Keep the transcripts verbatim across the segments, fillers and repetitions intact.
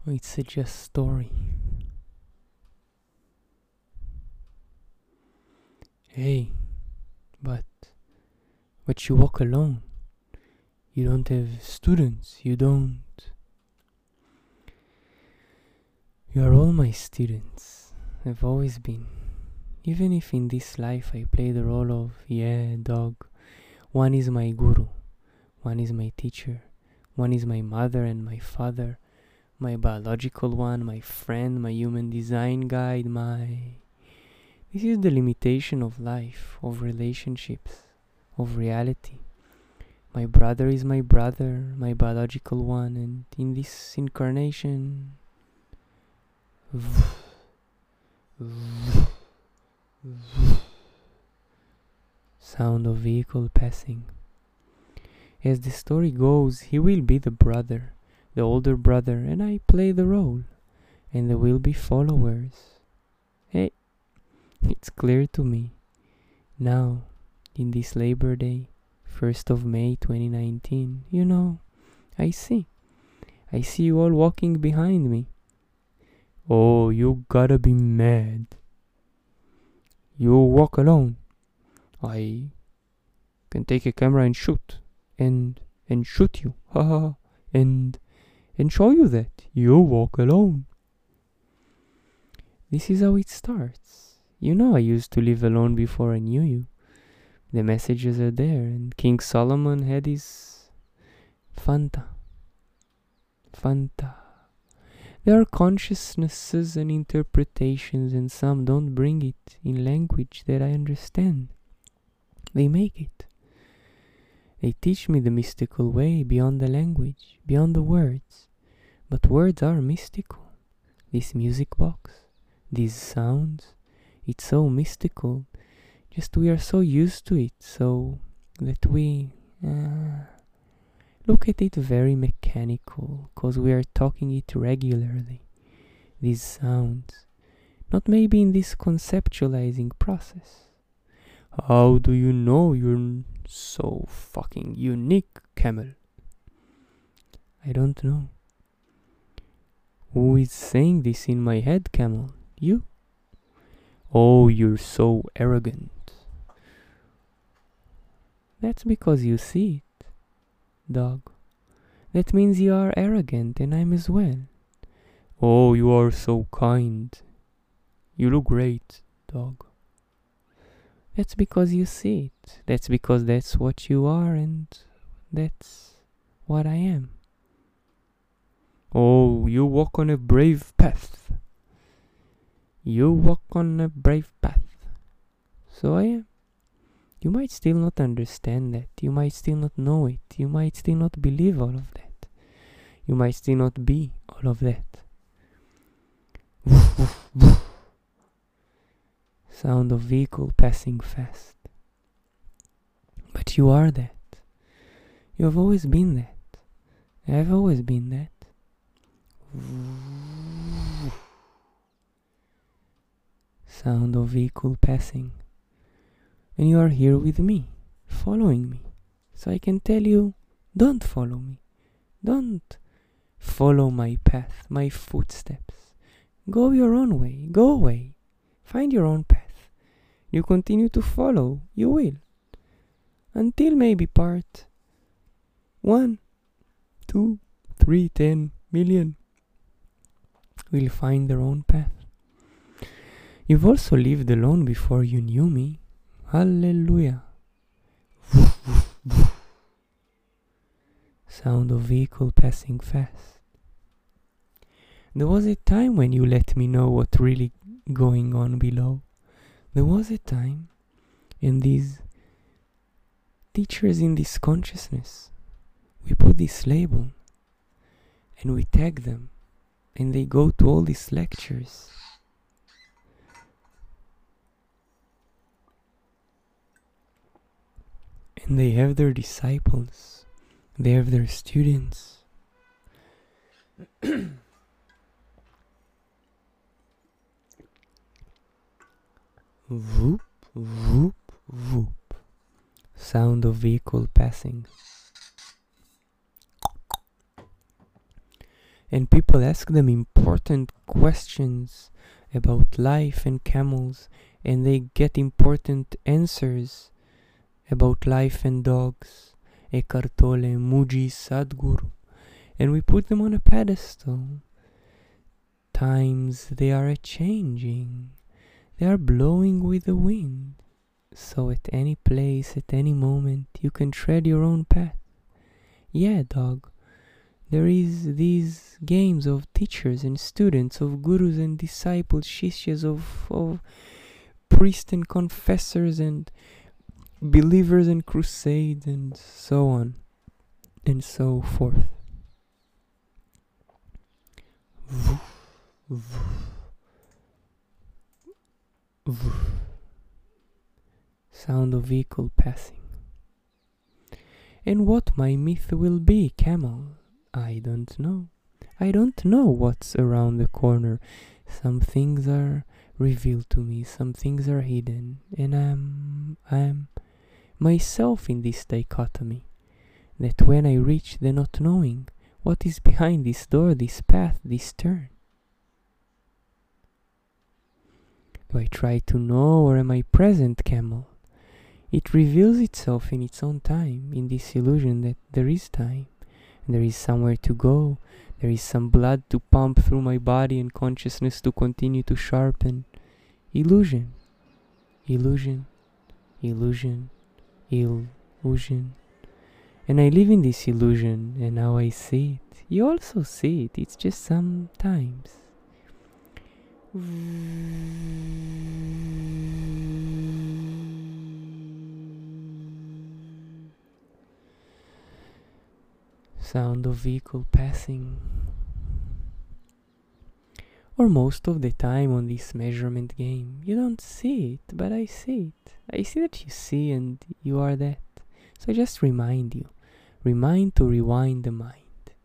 It's a just story. Hey, but but you walk alone. You don't have students. You don't. You are all my students. I've always been. Even if in this life I play the role of, yeah, dog. One is my guru. One is my teacher. One is my mother and my father. My biological one, my friend, my human design guide, my... This is the limitation of life, of relationships, of reality. My brother is my brother, my biological one, and in this incarnation... Sound of vehicle passing. As the story goes, he will be the brother, the older brother, and I play the role, and there will be followers. Hey, it's clear to me. Now, in this Labor Day, first of May twenty nineteen, you know, I see. I see you all walking behind me. Oh, you gotta be mad. You walk alone. I can take a camera and shoot. And and shoot you. Haha. and and show you that you walk alone. This is how it starts. You know I used to live alone before I knew you. The messages are there, and King Solomon had his Fanta. Fanta. There are consciousnesses and interpretations, and some don't bring it in language that I understand. They make it. They teach me the mystical way beyond the language, beyond the words. But words are mystical. This music box, these sounds, it's so mystical. Just we are so used to it, so that we uh, look at it very mechanical, cause we are talking it regularly. These sounds, not maybe in this conceptualizing process. How do you know you're so fucking unique, Camel? I don't know. Who is saying this in my head, Camel? You? Oh, you're so arrogant. That's because you see it, dog. That means you are arrogant, and I'm as well. Oh, you are so kind. You look great, dog. That's because you see it. That's because that's what you are, and that's what I am. Oh, you walk on a brave path. You walk on a brave path. So I am. You might still not understand that. You might still not know it. You might still not believe all of that. You might still not be all of that. Sound of vehicle passing fast. But you are that. You have always been that. I have always been that. Sound of vehicle passing. And you are here with me, following me. So I can tell you, don't follow me. Don't follow my path, my footsteps. Go your own way. Go away. Find your own path. You continue to follow, you will. Until maybe part one, two, three, ten million will find their own path. You've also lived alone before you knew me. Hallelujah. Sound of vehicle passing fast. There was a time when you let me know what really going on below. There was a time, and these teachers in this consciousness, we put this label, and we tag them, and they go to all these lectures. And they have their disciples, they have their students. Whoop, whoop, whoop. Sound of vehicle passing. And people ask them important questions about life and camels, and they get important answers about life and dogs. Eckhart Tolle, Muji, Sadhguru. And we put them on a pedestal. Times they are a-changing. They are blowing with the wind. So at any place, at any moment, you can tread your own path. Yeah, dog. There is these games of teachers and students, of gurus and disciples, shishyas, of, of priests and confessors and believers and crusades and so on and so forth. Sound of vehicle passing. And what my myth will be, camel? I don't know. I don't know what's around the corner. Some things are revealed to me, some things are hidden, and I'm I'm myself in this dichotomy. That when I reach the not knowing, what is behind this door, this path, this turn? Do I try to know, or am I present, camel? It reveals itself in its own time, in this illusion that there is time, and there is somewhere to go, there is some blood to pump through my body and consciousness to continue to sharpen. Illusion, illusion, illusion, illusion. And I live in this illusion, and now I see it. You also see it, it's just sometimes. Sound of vehicle passing. Or most of the time on this measurement game, you don't see it, but I see it. I see that you see and you are that. So I just remind you. Remind to rewind the mind.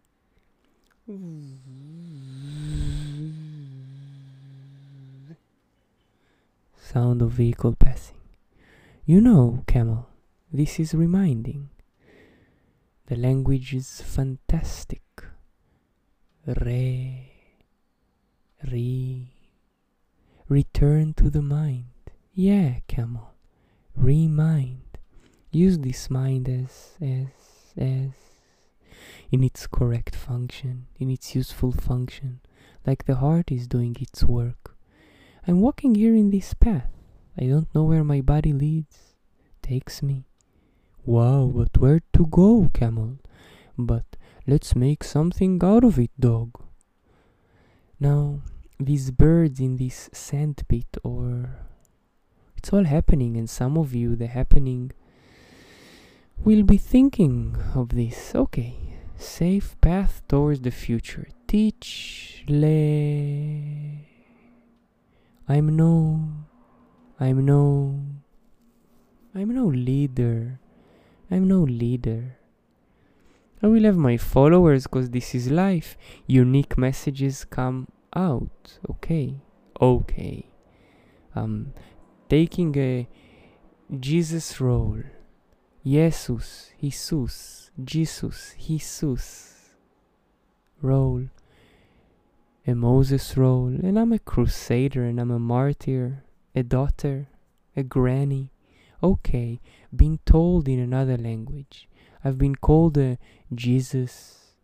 Sound of vehicle passing. You know, camel, this is reminding. The language is fantastic. Re, re, return to the mind. Yeah, camel, remind. Use this mind as, as, as, in its correct function, in its useful function, like the heart is doing its work. I'm walking here in this path. I don't know where my body leads, takes me. Wow, but where to go, camel? But let's make something out of it, dog. Now, these birds in this sandpit, or it's all happening, and some of you, the happening, will be thinking of this. Okay, safe path towards the future. Teach le. I'm no. I'm no. I'm no leader. I'm no leader. I will have my followers because this is life. Unique messages come out. Okay. Okay. Um, taking a Jesus role. Jesus, Jesus, Jesus, Jesus role. A Moses role. And I'm a crusader and I'm a martyr. A daughter. A granny. Okay, being told in another language. I've been called a Jesus,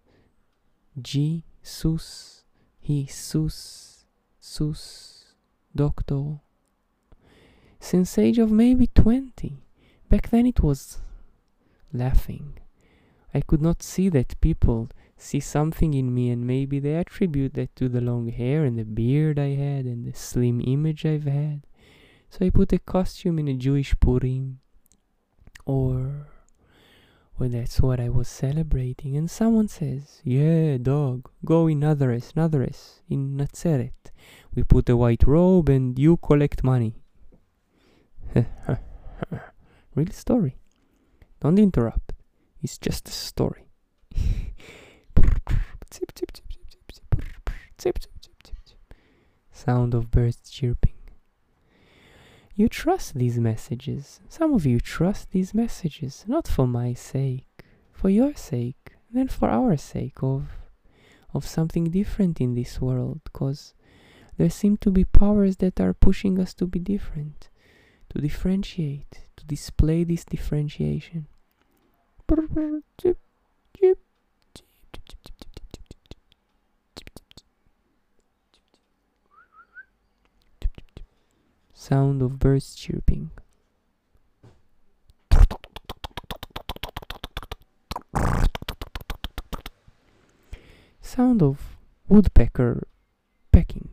Jesus, Jesus, Sus, Doctor. Since age of maybe twenty. Back then it was laughing. I could not see that people see something in me, and maybe they attribute that to the long hair and the beard I had and the slim image I've had. So I put a costume in a Jewish Purim, or, or that's what I was celebrating. And someone says, yeah, dog, go in Nazaret, Nazaret, in Nazareth. We put a white robe and you collect money. Real story. Don't interrupt. It's just a story. Sound of birds chirping. You trust these messages. Some of you trust these messages, not for my sake, for your sake, and for our sake, of of something different in this world, because there seem to be powers that are pushing us to be different, to differentiate, to display this differentiation. Sound of birds chirping. Sound of woodpecker pecking.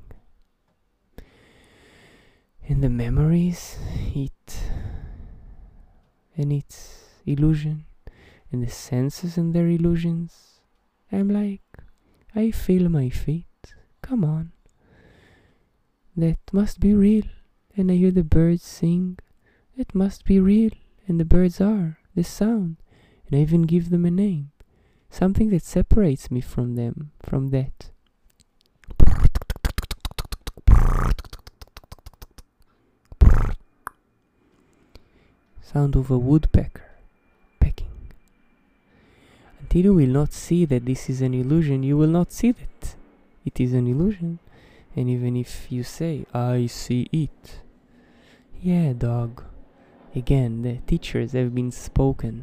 And the memories, it and its illusion, and the senses and their illusions. I'm like, I feel my feet, come on. That must be real. And I hear the birds sing, it must be real. And the birds are, the sound. And I even give them a name. Something that separates me from them, from that. Sound of a woodpecker pecking. Until you will not see that this is an illusion, you will not see that it is an illusion. And even if you say, I see it. Yeah, dog. Again, the teachers have been spoken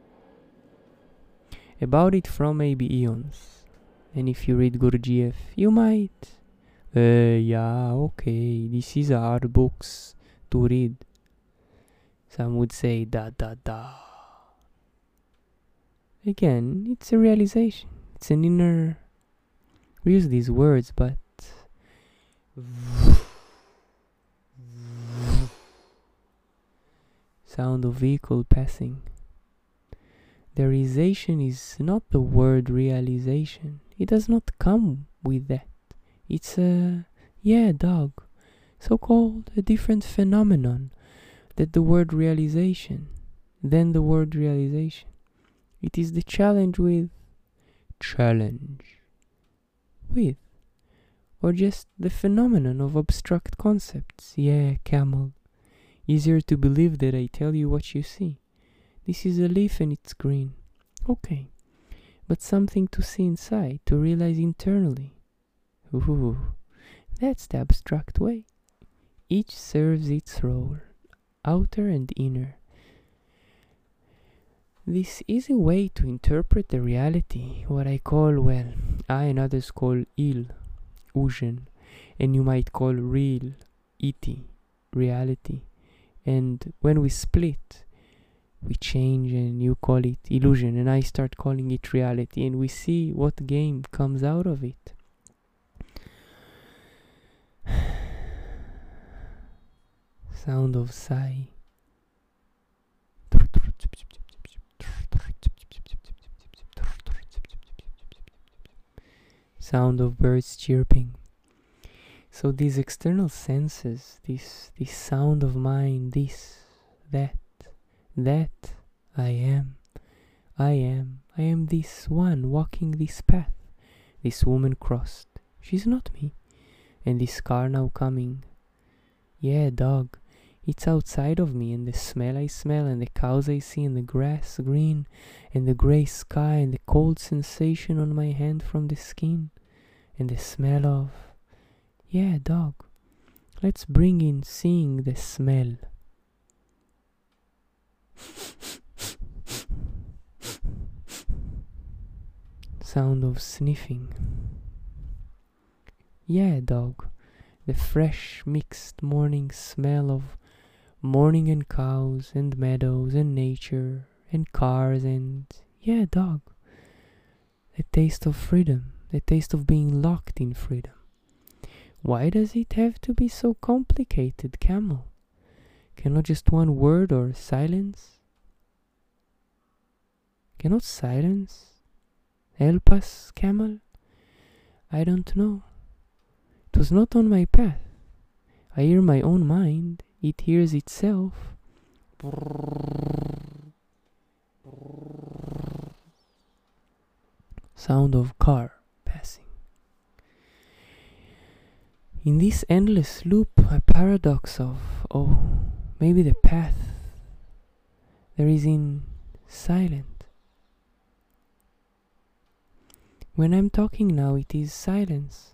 about it from maybe eons. And if you read Gurdjieff, you might. Uh, yeah, okay, this is hard books to read. Some would say da da da. Again, it's a realization. It's an inner. We use these words, but sound of vehicle passing. The realization is not the word realization. It does not come with that. It's a, yeah, dog, so-called a different phenomenon that the word realization, than the word realization. It is the challenge with, challenge with, or just the phenomenon of abstract concepts. Yeah, camel. Easier to believe that I tell you what you see. This is a leaf and it's green. Okay. But something to see inside, to realize internally. Ooh, that's the abstract way. Each serves its role, outer and inner. This is a way to interpret the reality, what I call, well, I and others call il, illusion, and you might call real, iti, reality. And when we split, we change and you call it illusion and I start calling it reality, and we see what game comes out of it. Sound of sigh. Sound of birds chirping. So these external senses, this this sound of mind, this, that, that, I am, I am, I am this one walking this path. This woman crossed, she's not me. And this car now coming. Yeah, dog, it's outside of me, and the smell I smell, and the cows I see, and the grass green, and the grey sky, and the cold sensation on my hand from the skin, and the smell of, yeah, dog, let's bring in seeing the smell. Sound of sniffing. Yeah, dog, the fresh mixed morning smell of morning and cows and meadows and nature and cars and, yeah, dog, the taste of freedom, the taste of being locked in freedom. Why does it have to be so complicated, camel? Cannot just one word or silence? Cannot silence help us, camel? I don't know. It was not on my path. I hear my own mind. It hears itself. Sound of car passing. In this endless loop, a paradox of, oh, maybe the path there is in silent. When I'm talking now, it is silence.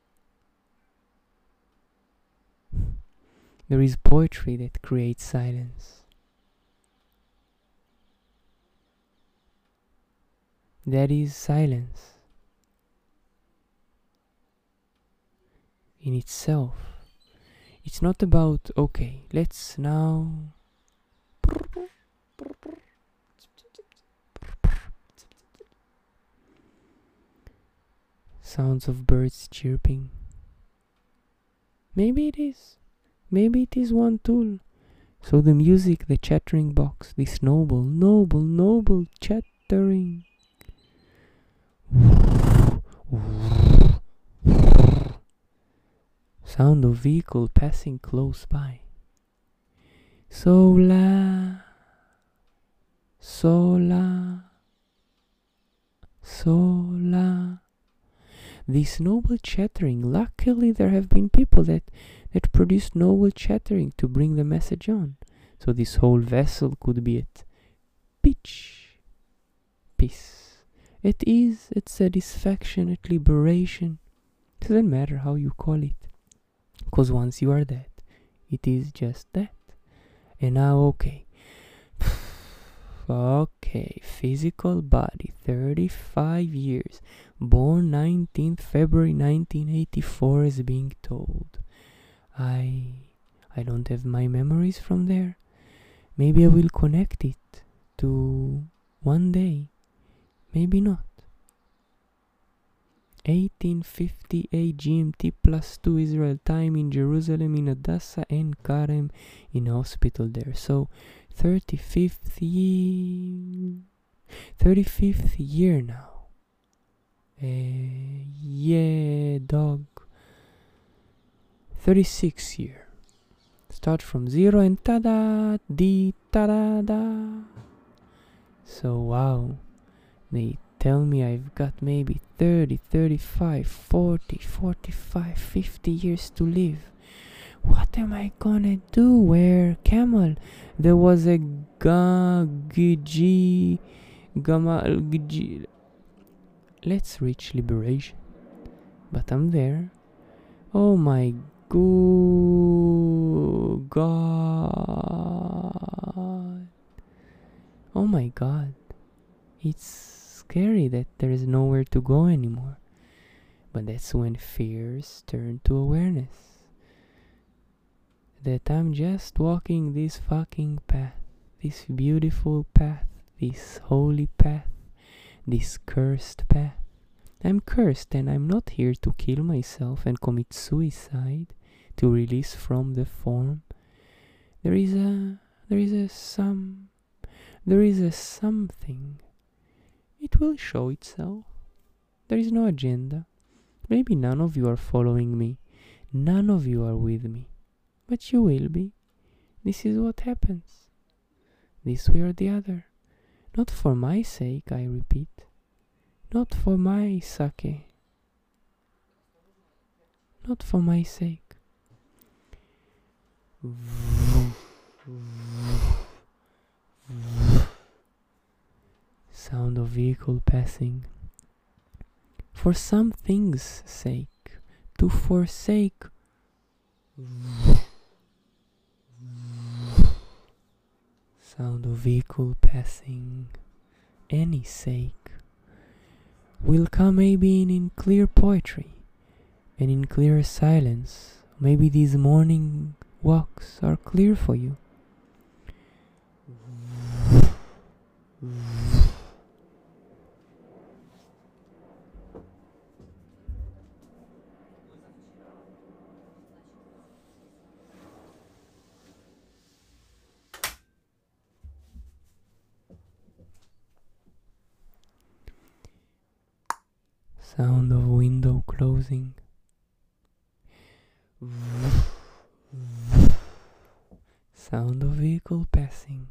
There is poetry that creates silence. That is silence in itself. It's not about, okay, let's now sounds of birds chirping. Maybe it is. Maybe it is one tool. So the music, the chattering box, this noble, noble, noble chattering. Sound of vehicle passing close by. Sola, sola, sola. This noble chattering. Luckily, there have been people that that produced noble chattering to bring the message on. So this whole vessel could be at pitch, peace, at ease, at satisfaction, at liberation. Doesn't matter how you call it, because once you are that, it is just that. And now, okay, okay, physical body, thirty-five years, born nineteenth February nineteen eighty-four, is being told. I I don't have my memories from there. Maybe I will connect it to one day. Maybe not. eighteen fifty-eight G M T plus two Israel time in Jerusalem, in Hadassah and Karem, in a hospital there. So thirty-fifth year, thirty-fifth year now. Uh, yeah, dog. thirty-six year. Start from zero and tada, di, tada, da. So wow, they tell me I've got maybe thirty, thirty-five, forty, forty-five, fifty years to live. What am I gonna do? Where camel? There was a ga, g, gamal, g. Let's reach liberation. But I'm there. Oh my Go- God. Oh my God. It's scary that there is nowhere to go anymore. But that's when fears turn to awareness. That I'm just walking this fucking path. This beautiful path. This holy path. This cursed path. I'm cursed and I'm not here to kill myself and commit suicide. To release from the form. There is a, there is a some, there is a something. It will show itself. There is no agenda. Maybe none of you are following me. None of you are with me. But you will be. This is what happens. This way or the other. Not for my sake, I repeat. Not for my sake. Not for my sake. Sound of vehicle passing. For some things' sake, to forsake. Sound of vehicle passing. Any sake will come maybe in, in clear poetry and in clear silence. Maybe these morning walks are clear for you. Sound of window closing. Sound of vehicle passing.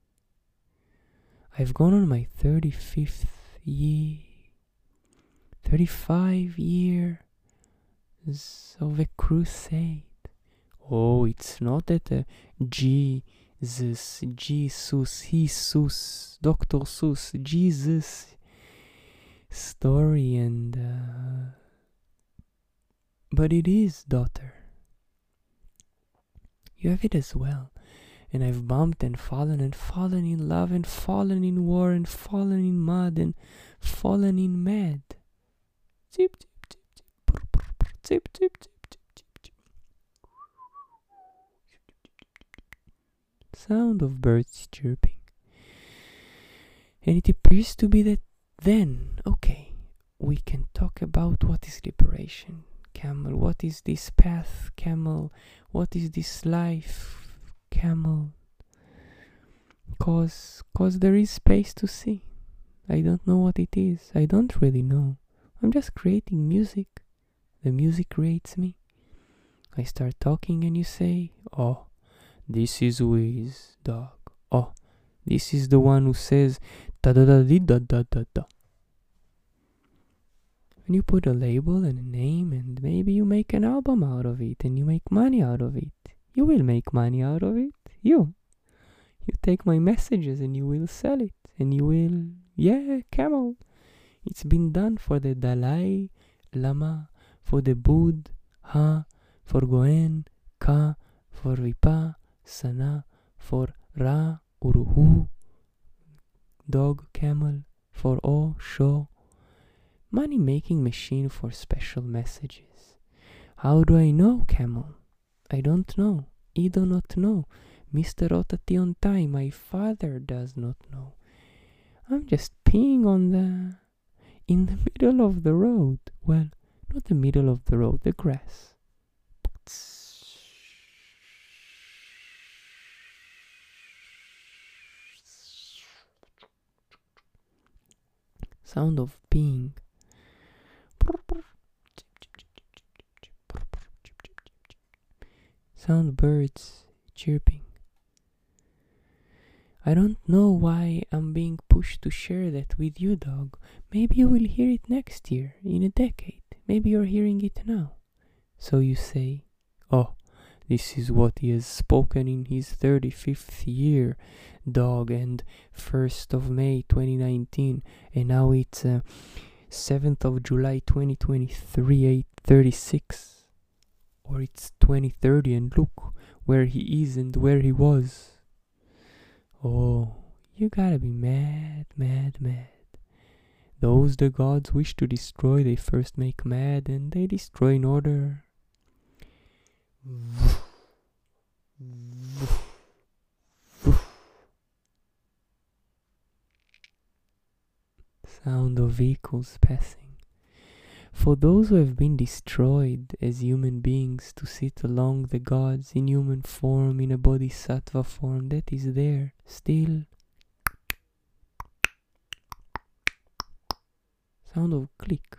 I've gone on my thirty-fifth year, thirty-five years of a crusade. Oh, it's not that a Jesus, Jesus, Jesus, Doctor Seuss, Jesus. story, and uh, but it is, daughter. You have it as well. And I've bumped and fallen and fallen in love and fallen in war and fallen in mud and fallen in mad. Zip, zip, zip, zip, brr, brr, brr, zip, zip, zip, zip, zip, zip. Sound of birds chirping. And it appears to be that then, okay, we can talk about what is liberation, camel, what is this path, camel, what is this life, camel, cause cause there is space to see. I don't know what it is. I don't really know. I'm just creating music. The music creates me. I start talking and you say, oh, this is Wiz, dog. Oh, this is the one who says da da da da da da da. And you put a label and a name, and maybe you make an album out of it and you make money out of it. You will make money out of it. You. You take my messages and you will sell it. And you will, yeah, camel. It's been done for the Dalai Lama, for the Buddha, for Goen, Ka, for Vipa, Sana, for Ra, Uruhu, dog, camel, for O, Sho. Money making machine for special messages. How do I know, camel? I don't know. I do not know. Mister Otati time, my father does not know. I'm just peeing on the... in the middle of the road. Well, not the middle of the road, the grass. Sound of peeing. Sound birds chirping. I don't know why I'm being pushed to share that with you, dog. Maybe you will hear it next year, in a decade. Maybe you're hearing it now. So you say, oh, this is what he has spoken in his thirty-fifth year, dog, and first of May twenty nineteen, and now it's uh, seventh of July twenty twenty-three, eight thirty-six. Or it's twenty thirty, and look where he is and where he was. Oh, you gotta be mad, mad, mad. Those the gods wish to destroy, they first make mad, and they destroy in order. Sound of vehicles passing. For those who have been destroyed as human beings to sit along the gods in human form, in a bodhisattva form, that is there, still. Sound of click.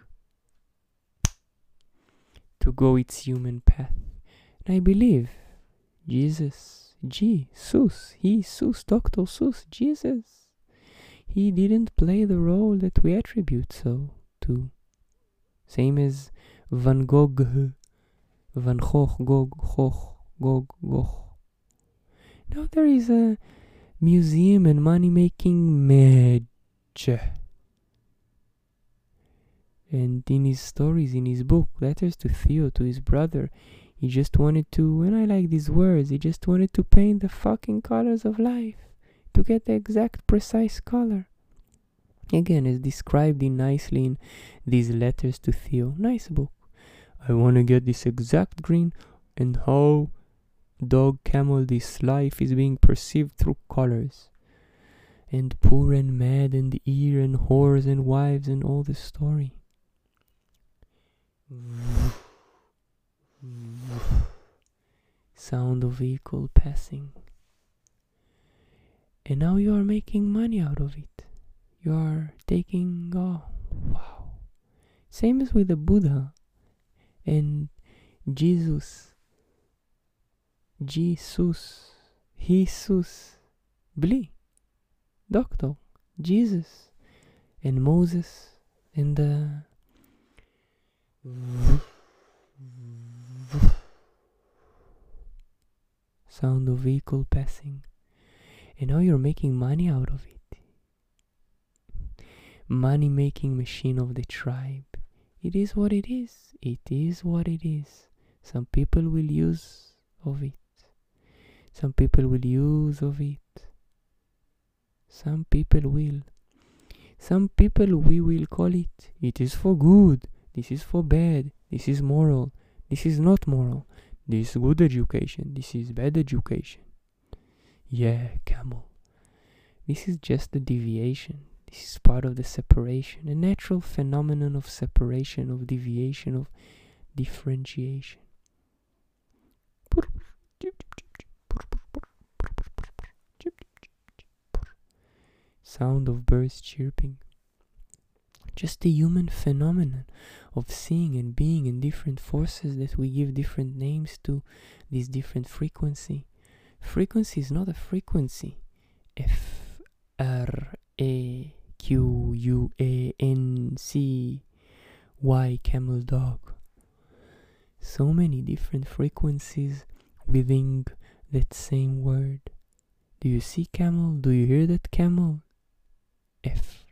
To go its human path. And I believe Jesus, Jesus, he, Sus, Doctor Seuss, Jesus, he didn't play the role that we attribute so to. Same as Van Gogh, Van Gogh, Gogh, Gogh, Gogh, Gogh. Now there is a museum and money-making match. And in his stories, in his book, Letters to Theo, to his brother, he just wanted to, and I like these words, he just wanted to paint the fucking colors of life, to get the exact precise color. Again, as described in nicely in these Letters to Theo. Nice book. I want to get this exact green, and how, dog, camel, this life is being perceived through colors. And poor and mad and ear and whores and wives and all the story. Sound of vehicle passing. And now you are making money out of it. You are taking, oh, wow. Same as with the Buddha and Jesus. Jesus. Jesus. Bli. Doctor. Jesus. And Moses. And the... sound of vehicle passing. And now you're making money out of it. money-making machine of the tribe. It is what it is. It is what it is. Some people will use of it. Some people will use of it. Some people will. Some people we will call it. It is for good. This is for bad. This is moral. This is not moral. This is good education. This is bad education. Yeah, camel. This is just a deviation. This is part of the separation. A natural phenomenon of separation, of deviation, of differentiation. Sound of birds chirping. Just a human phenomenon of seeing and being in different forces that we give different names to, this different frequency. Frequency is not a frequency. F R A Q U A N C Y, camel dog. So many different frequencies within that same word. Do you see camel? Do you hear that camel? F.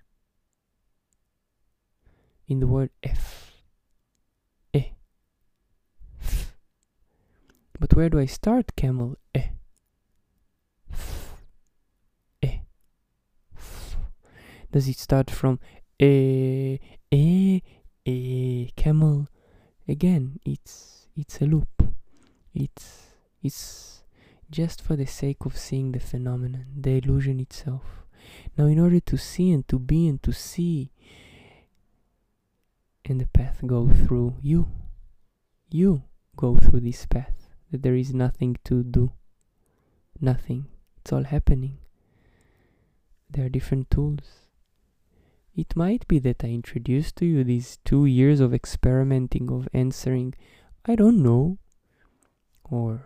In the word F. E. F. But where do I start camel? E. F. E. F. Does it start from E, E, E, camel? Again, it's it's a loop. It's it's just for the sake of seeing the phenomenon, the illusion itself. Now, in order to see and to be and to see, and the path go through you. You go through this path. That there is nothing to do. Nothing. It's all happening. There are different tools. It might be that I introduced to you these two years of experimenting, of answering, I don't know, or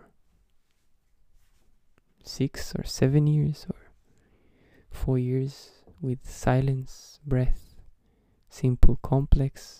six or seven years, or four years with silence, breath, simple, complex,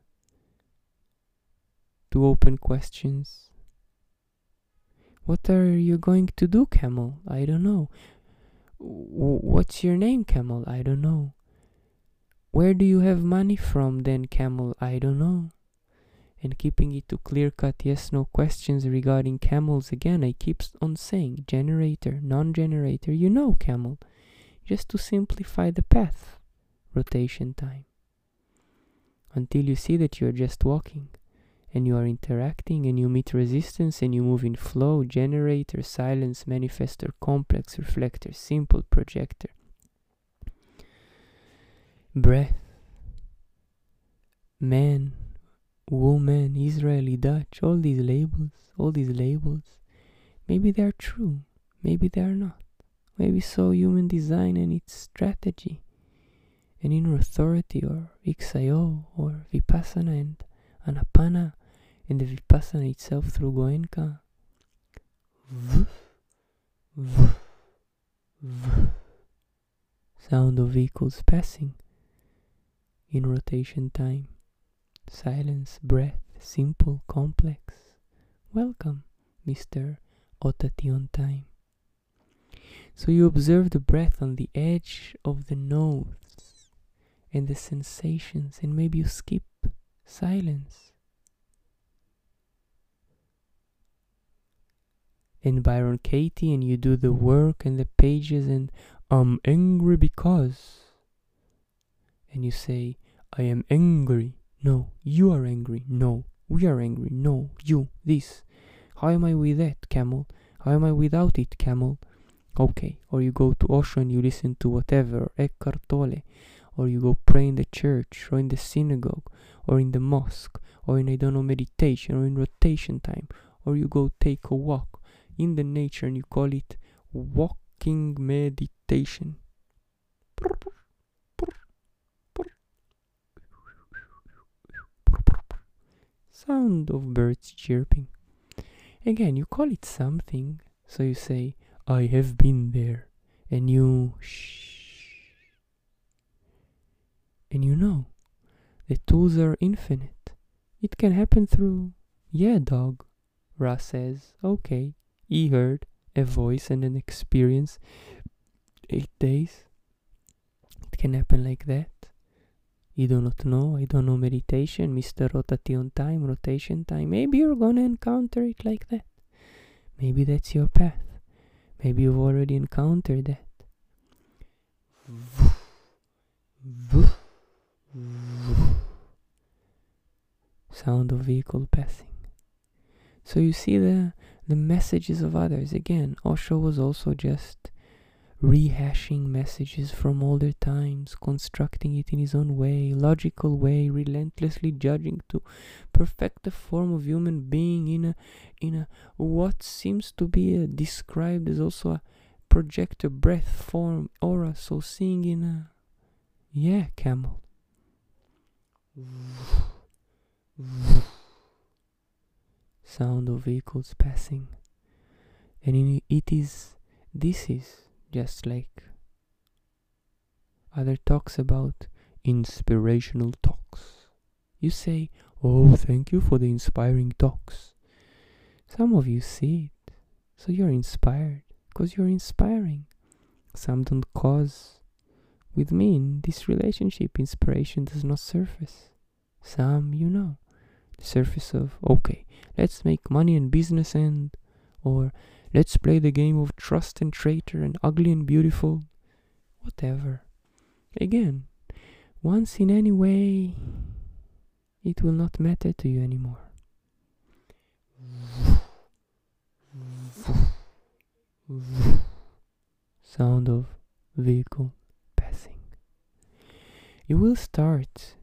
two open questions. What are you going to do, camel? I don't know. W- what's your name, camel? I don't know. Where do you have money from then, camel? I don't know. And keeping it to clear-cut yes-no questions regarding camels, again, I keep on saying generator, non-generator, you know, camel. Just to simplify the path, rotation time. Until you see that you are just walking, and you are interacting, and you meet resistance, and you move in flow, generator, silence, manifestor, complex, reflector, simple, projector. Breath, man, woman, Israeli, Dutch, all these labels, all these labels, maybe they are true, maybe they are not. Maybe so human design and its strategy, and inner authority, or X I O, or Vipassana and Anapana, and the Vipassana itself through Goenka. Sound of vehicles passing in rotation time. Silence, breath, simple, complex. Welcome, Mister Otati time. So you observe the breath on the edge of the nose and the sensations, and maybe you skip silence. And Byron Katie, and you do the work and the pages, and I'm angry because. And you say, I am angry. No, you are angry. No, we are angry. No, you, this. How am I with that, camel? How am I without it, camel? Okay, or you go to Osho and you listen to whatever, Eckhart Tolle, or you go pray in the church, or in the synagogue, or in the mosque, or in, I don't know, meditation, or in rotation time, or you go take a walk in the nature and you call it walking meditation. Sound of birds chirping. Again, you call it something, so you say, I have been there, and you shh, and you know, the tools are infinite. It can happen through, yeah, dog, Ra says, okay, he heard a voice and an experience, eight days. It can happen like that. You do not know. I don't know meditation, Mister Rotation time, rotation time. Maybe you're gonna encounter it like that. Maybe that's your path. Maybe you've already encountered that. Sound of vehicle passing. So you see the the messages of others. Again, Osho was also just rehashing messages from older times, constructing it in his own way, logical way, relentlessly judging to perfect the form of human being in a in a what seems to be a, described as also a projector breath form aura. So seeing in a yeah camel. Sound of vehicles passing, and in it is this is just like other talks about inspirational talks. You say, oh, thank you for the inspiring talks. Some of you see it, so you're inspired because you're inspiring. Some don't cause. With me in this relationship, inspiration does not surface. Some, you know, the surface of, okay, let's make money and business and, or let's play the game of trust and traitor and ugly and beautiful. Whatever. Again, once in any way, it will not matter to you anymore. Sound of vehicle passing. You will start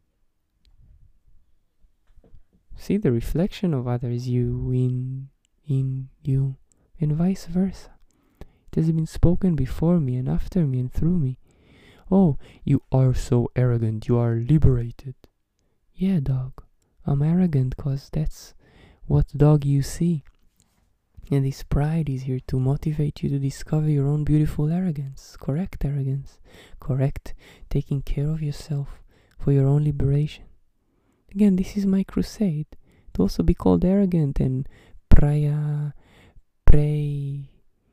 see the reflection of others, you in in you, and vice versa. It has been spoken before me and after me and through me. Oh, you are so arrogant, you are liberated. Yeah, dog, I'm arrogant cause that's what dog you see. And this pride is here to motivate you to discover your own beautiful arrogance, correct arrogance, correct taking care of yourself for your own liberation. Again, this is my crusade to also be called arrogant and praya, pray.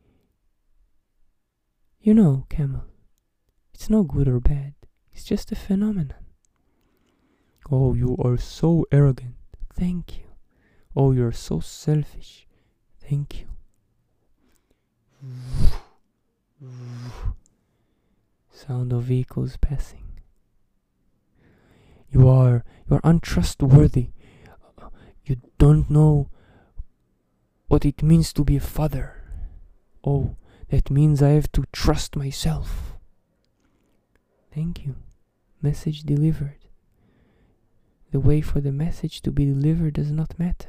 You know, camel, it's no good or bad. It's just a phenomenon. Oh, you are so arrogant. Thank you. Oh, you're so selfish. Thank you. Sound of vehicles passing. You are you are untrustworthy. You don't know what it means to be a father. Oh, that means I have to trust myself. Thank you. Message delivered. The way for the message to be delivered does not matter.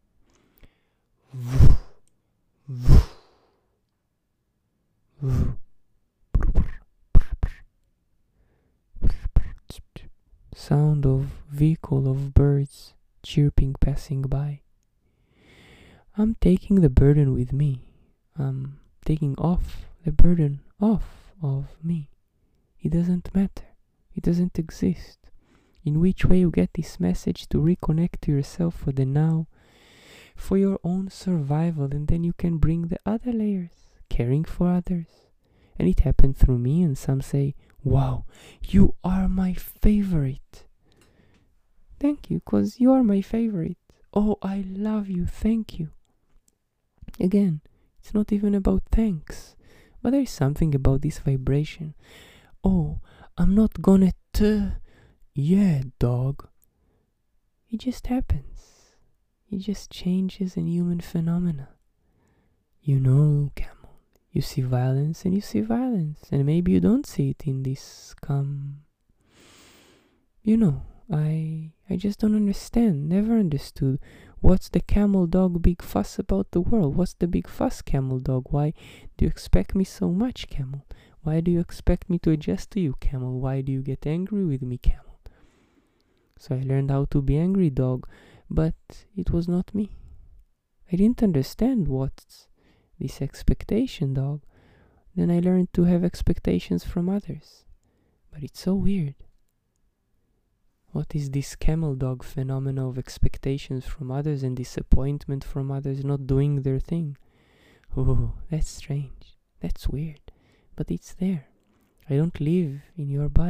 Sound of vehicle of birds chirping passing by. I'm taking the burden with me. I'm taking off the burden off of me. It doesn't matter. It doesn't exist. In which way you get this message to reconnect to yourself for the now, for your own survival, and then you can bring the other layers, caring for others. And it happened through me, and some say, wow, you are my favorite. Thank you, because you are my favorite. Oh, I love you, thank you. Again, it's not even about thanks, but there is something about this vibration. Oh, I'm not gonna t- yeah, dog. It just happens. It just changes in human phenomena. You know, camel, you see violence and you see violence, and maybe you don't see it in this calm. You know, I I just don't understand, never understood. What's the camel dog big fuss about the world? What's the big fuss, camel dog? Why do you expect me so much, camel? Why do you expect me to adjust to you, camel? Why do you get angry with me, camel? So I learned how to be angry, dog, but it was not me. I didn't understand what's this expectation, dog. Then I learned to have expectations from others. But it's so weird. What is this camel dog phenomena of expectations from others and disappointment from others not doing their thing? Oh, that's strange. That's weird. But it's there. I don't live in your body.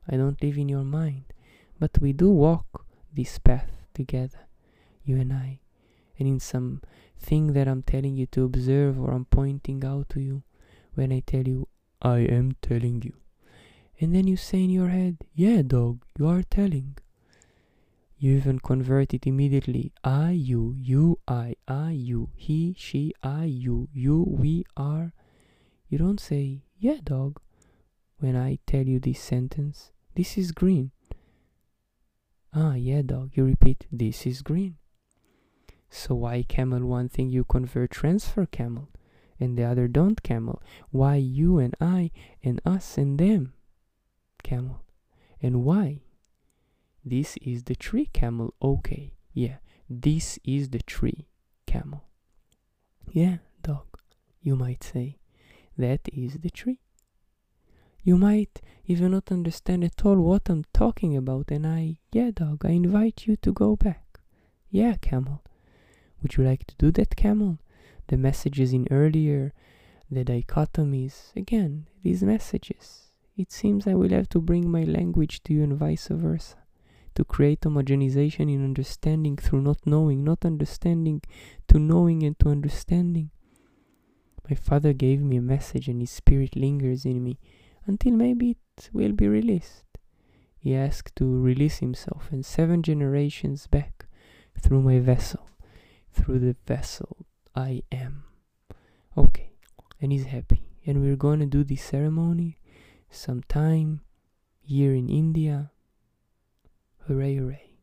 I don't live in your mind. But we do walk this path together, you and I. And in some thing that I'm telling you to observe, or I'm pointing out to you, when I tell you, I am telling you. And then you say in your head, yeah, dog, you are telling. You even convert it immediately. I, you, you, I, I, you, he, she, I, you, you, we are. You don't say, yeah, dog, when I tell you this sentence. This is green. Ah, yeah, dog, you repeat, this is green. So why camel one thing you convert transfer camel, and the other don't camel? Why you and I and us and them camel? And why? This is the tree camel. Okay, yeah, this is the tree camel. Yeah, dog, you might say, that is the tree. You might even not understand at all what I'm talking about, and I, yeah, dog, I invite you to go back. Yeah, camel. Would you like to do that, camel? The messages in earlier, the dichotomies, again, these messages. It seems I will have to bring my language to you and vice versa, to create homogenization in understanding through not knowing, not understanding to knowing and to understanding. My father gave me a message and his spirit lingers in me until maybe it will be released. He asked to release himself, and seven generations back, through my vessel, through the vessel I am. Okay, and he's happy. And we're gonna do this ceremony sometime here in India. Hooray, hooray.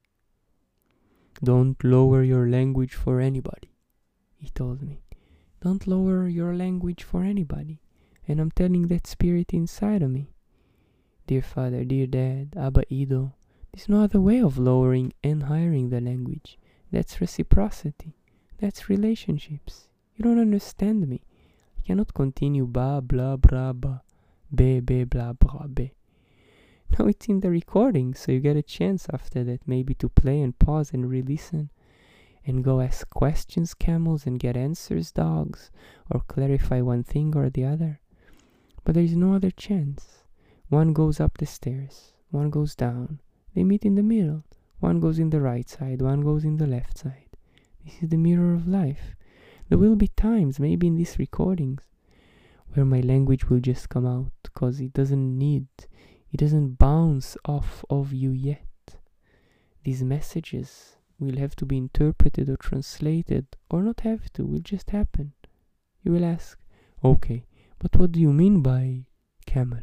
Don't lower your language for anybody, he told me. Don't lower your language for anybody. And I'm telling that spirit inside of me. Dear Father, dear Dad, Abba Ido, there's no other way of lowering and hiring the language. That's reciprocity. That's relationships. You don't understand me. I cannot continue ba, blah, blah, ba, be, be, blah, blah, be. Now it's in the recording, so you get a chance after that maybe to play and pause and re-listen. And go ask questions, camels, and get answers, dogs, or clarify one thing or the other. But there is no other chance. One goes up the stairs, one goes down. They meet in the middle. One goes in the right side, one goes in the left side. This is the mirror of life. There will be times, maybe in these recordings, where my language will just come out, because it doesn't need, it doesn't bounce off of you yet. These messages will have to be interpreted or translated, or not have to, will just happen. You will ask, okay, but what do you mean by camel?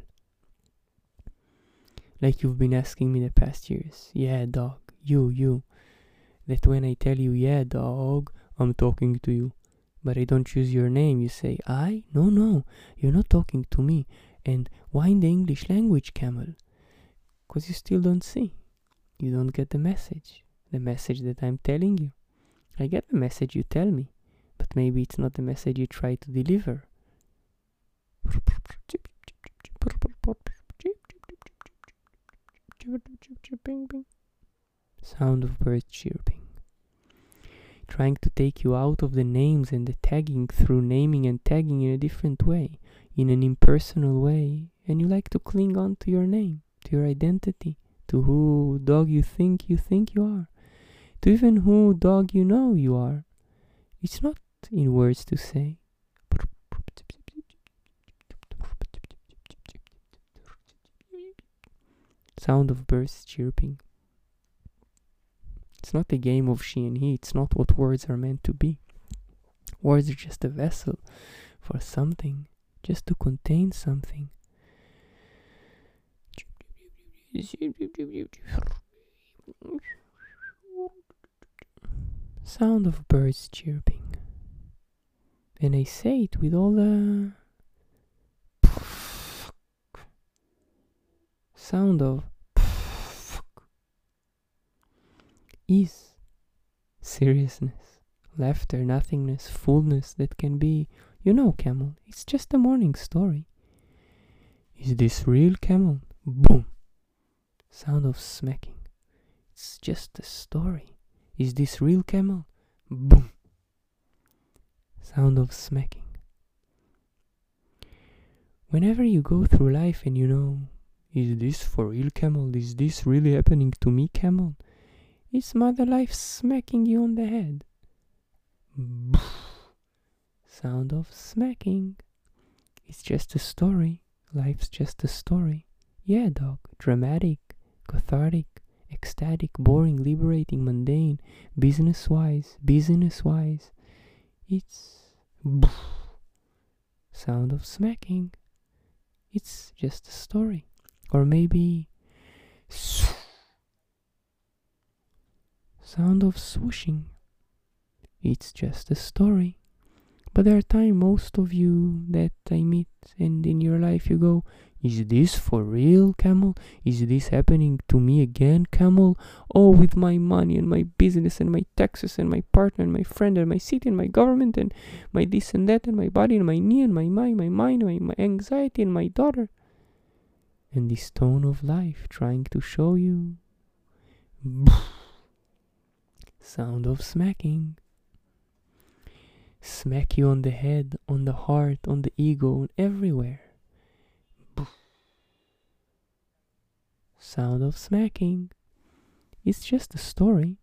Like you've been asking me the past years. Yeah, dog, you, you. That when I tell you, yeah, dog, I'm talking to you. But I don't choose your name. You say, I? No, no, you're not talking to me. And why in the English language, camel? Because you still don't see. You don't get the message. The message that I'm telling you. I get the message you tell me, but maybe it's not the message you try to deliver. Sound of birds chirping. Trying to take you out of the names and the tagging through naming and tagging in a different way, in an impersonal way, and you like to cling on to your name, to your identity, to who dog you think you think you are, to even who dog you know you are. It's not in words to say. Sound of birds chirping. It's not a game of she and he. It's not what words are meant to be. Words are just a vessel for something, just to contain something. Sound of birds chirping. And I say it with all the sound of ease, seriousness, laughter, nothingness, fullness that can be, you know, camel, it's just a morning story. Is this real, camel? Boom. Sound of smacking. It's just a story. Is this real, camel? Boom. Sound of smacking. Whenever you go through life and you know, Is this for real, camel? Is this really happening to me, camel? It's Mother Life smacking you on the head. Sound of smacking. It's just a story. Life's just a story. Yeah, dog. Dramatic, cathartic, ecstatic, boring, liberating, mundane, business-wise, business-wise. It's sound of smacking. It's just a story. Or maybe sound of swooshing. It's just a story. But there are times, most of you that I meet, and in your life you go, is this for real, camel? Is this happening to me again, camel? Oh, with my money and my business and my taxes and my partner and my friend and my city and my government and my this and that and my body and my knee and my mind, my mind, my, my anxiety and my daughter. And this tone of life trying to show you. Sound of smacking. Smack you on the head, on the heart, on the ego, everywhere. Sound of smacking. It's just a story.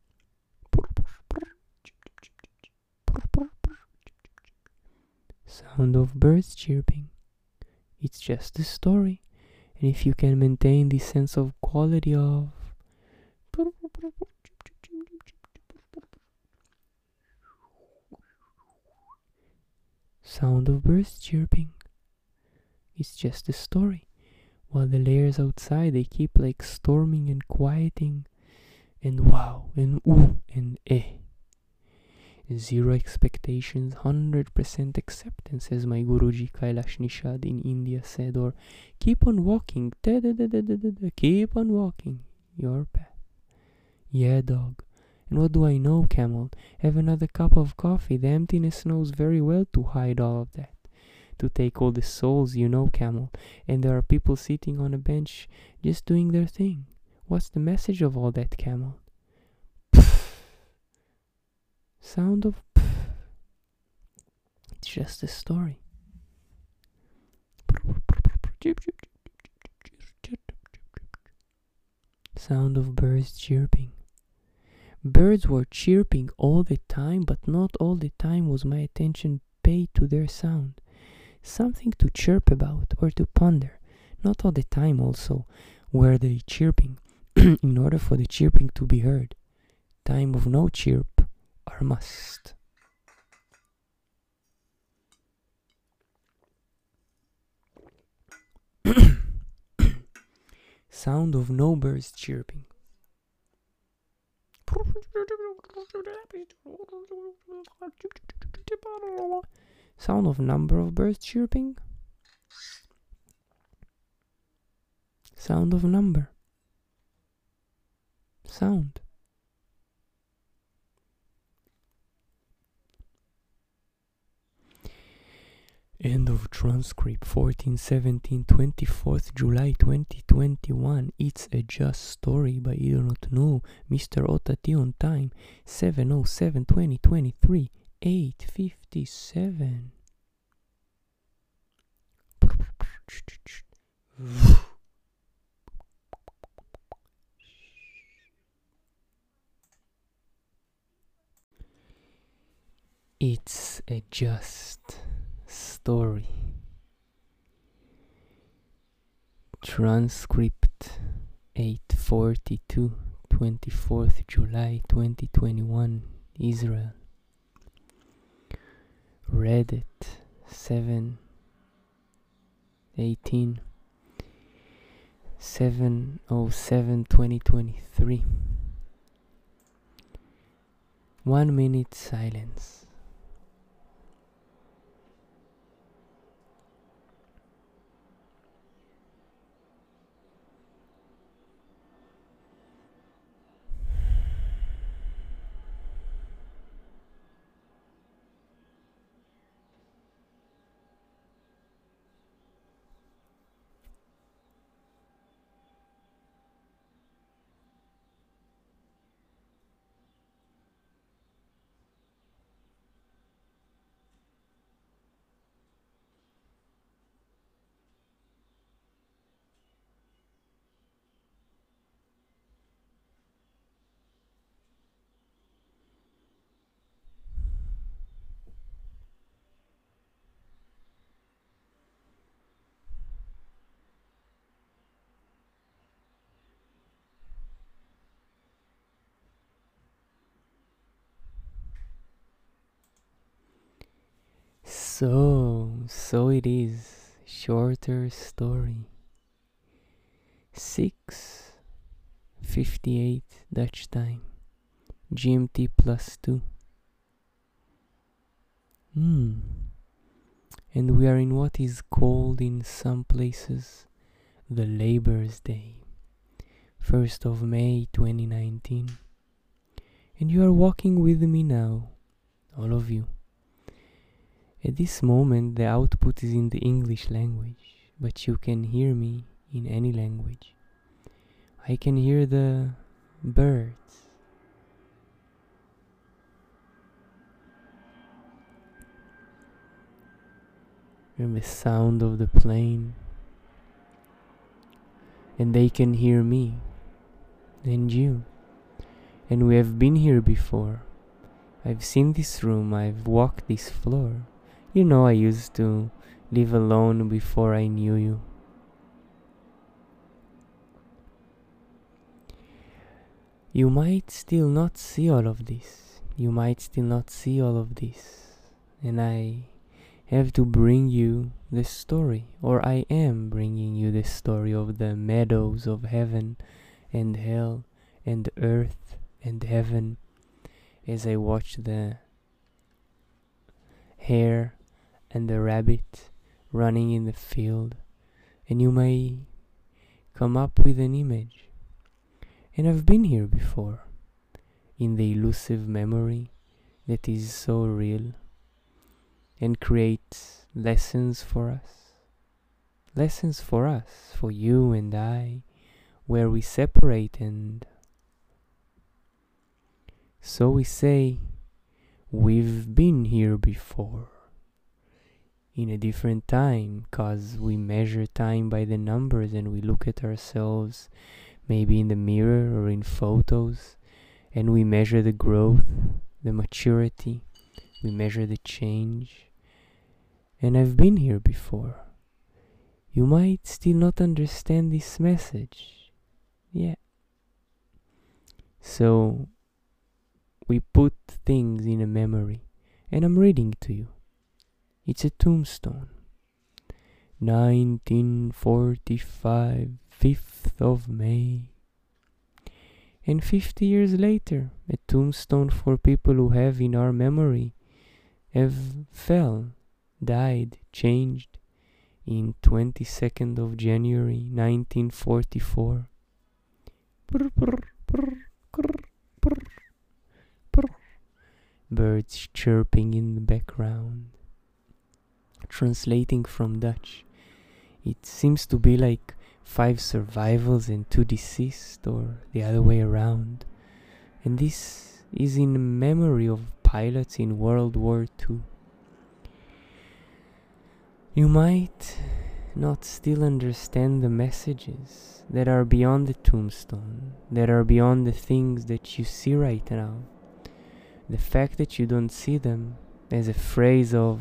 Sound of birds chirping. It's just a story. And if you can maintain this sense of quality of sound of birds chirping, it's just a story. While the layers outside, they keep like storming and quieting, and wow, and ooh, and eh. Zero expectations, one hundred percent acceptance, as my Guruji Kailash Nishad in India said, or keep on walking, da da da da da da, keep on walking your path. Yeah, dog. And what do I know, camel? Have another cup of coffee. The emptiness knows very well to hide all of that, to take all the souls, you know, camel. And there are people sitting on a bench just doing their thing. What's the message of all that, camel? Pff. Sound of pff. It's just a story. Sound of birds chirping. Birds were chirping all the time, but not all the time was my attention paid to their sound. Something to chirp about or to ponder. Not all the time also were they chirping in order for the chirping to be heard. Time of no chirp are must. Sound of no birds chirping. Sound of number of birds chirping. Sound of number. Sound. End of transcript fourteen seventeen twenty-fourth July twenty twenty-one. It's a Just Story by I Do Not Know. Mister Otati on time seven oh seven twenty twenty-three eight fifty-seven. It's a Just Story. Transcript eight forty-two twenty-fourth July twenty twenty-one, Israel. Reddit seven eighteen seven oh seven twenty twenty-three. One minute silence. So, so it is. Shorter story. six fifty-eight Dutch time. G M T plus two. Hmm. And we are in what is called in some places the Labor's Day. first of May twenty nineteen. And you are walking with me now, all of you. At this moment the output is in the English language, but you can hear me in any language. I can hear the birds. And the sound of the plane. And they can hear me and you. And we have been here before. I've seen this room, I've walked this floor. You know I used to live alone before I knew you. You might still not see all of this. You might still not see all of this. And I have to bring you the story, or I am bringing you the story of the meadows of heaven and hell and earth and heaven, as I watch the hare and the rabbit running in the field, and you may come up with an image. And I've been here before, in the elusive memory that is so real, and creates lessons for us. Lessons for us, for you and I, where we separate, and so we say, we've been here before. In a different time, cause we measure time by the numbers and we look at ourselves maybe in the mirror or in photos, and we measure the growth, the maturity, we measure the change. And I've been here before. You might still not understand this message. Yeah. So we put things in a memory, and I'm reading to you. It's a tombstone. nineteen forty-five, fifth of May. And fifty years later, a tombstone for people who have in our memory have fell, died, changed in twenty-second of January nineteen forty-four. Brr, brr, brr, brr, brr, brr. Birds chirping in the background. Translating from Dutch, it seems to be like five survivals and two deceased, or the other way around. And this is in memory of pilots in World War Two. You might not still understand the messages that are beyond the tombstone, that are beyond the things that you see right now. The fact that you don't see them as a phrase of,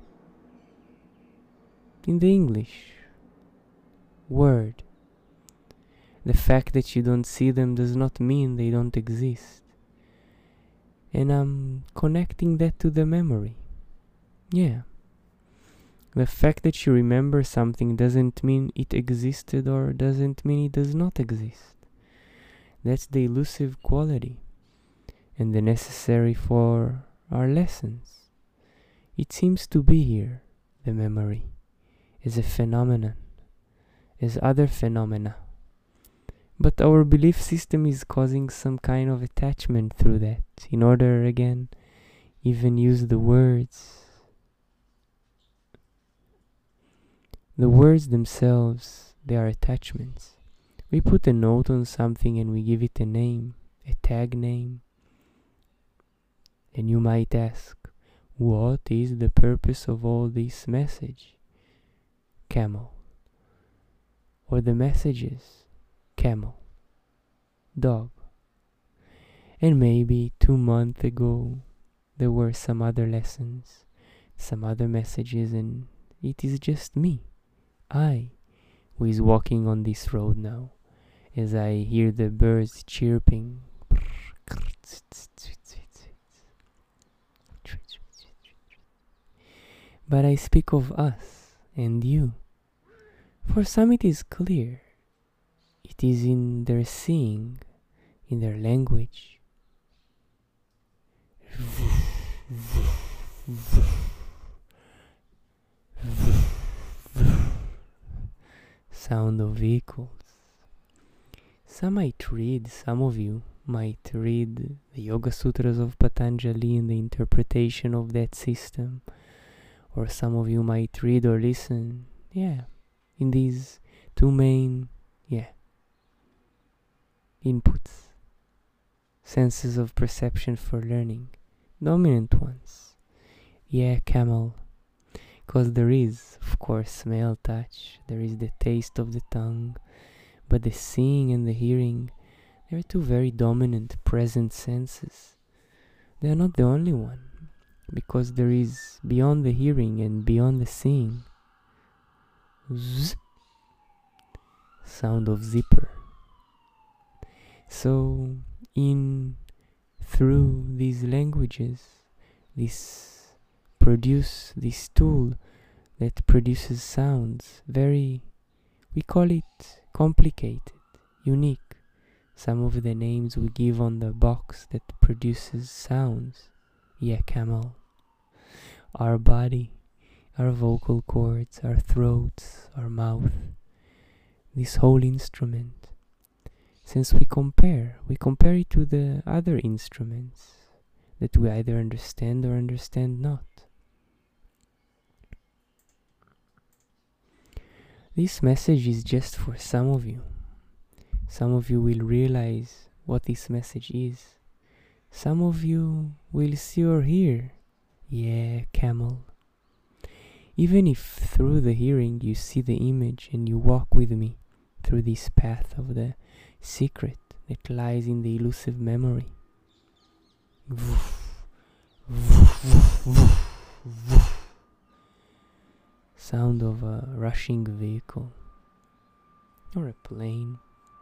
in the English word. The fact that you don't see them does not mean they don't exist. And I'm connecting that to the memory. Yeah. The fact that you remember something doesn't mean it existed, or doesn't mean it does not exist. That's the elusive quality and the necessary for our lessons. It seems to be here, the memory, as a phenomenon, as other phenomena. But our belief system is causing some kind of attachment through that, in order, again, even use the words. The words themselves, they are attachments. We put a note on something and we give it a name, a tag name. And you might ask, what is the purpose of all this message? Camel. Or the messages, camel, dog. And maybe two months ago there were some other lessons, some other messages, and it is just me, I, who is walking on this road now, as I hear the birds chirping. but I speak of us and you. For some it is clear. It is in their seeing, in their language. Sound of vehicles. Some might read, some of you might read the Yoga Sutras of Patanjali and the interpretation of that system. Or some of you might read or listen, yeah, in these two main, yeah, inputs, senses of perception for learning, dominant ones. Yeah, camel, because there is, of course, smell, touch, there is the taste of the tongue, but the seeing and the hearing, they are two very dominant present senses. They are not the only one, because there is beyond the hearing and beyond the seeing, zzz, sound of zipper. So, in through these languages, this produce this tool that produces sounds very, we call it complicated, unique. Some of the names we give on the box that produces sounds. Yeah, camel. Our body, our vocal cords, our throats, our mouth, this whole instrument. Since we compare, we compare it to the other instruments that we either understand or understand not. This message is just for some of you. Some of you will realize what this message is. Some of you will see or hear. Yeah, camel. Even if through the hearing you see the image and you walk with me through this path of the secret that lies in the elusive memory. Sound of a rushing vehicle or a plane.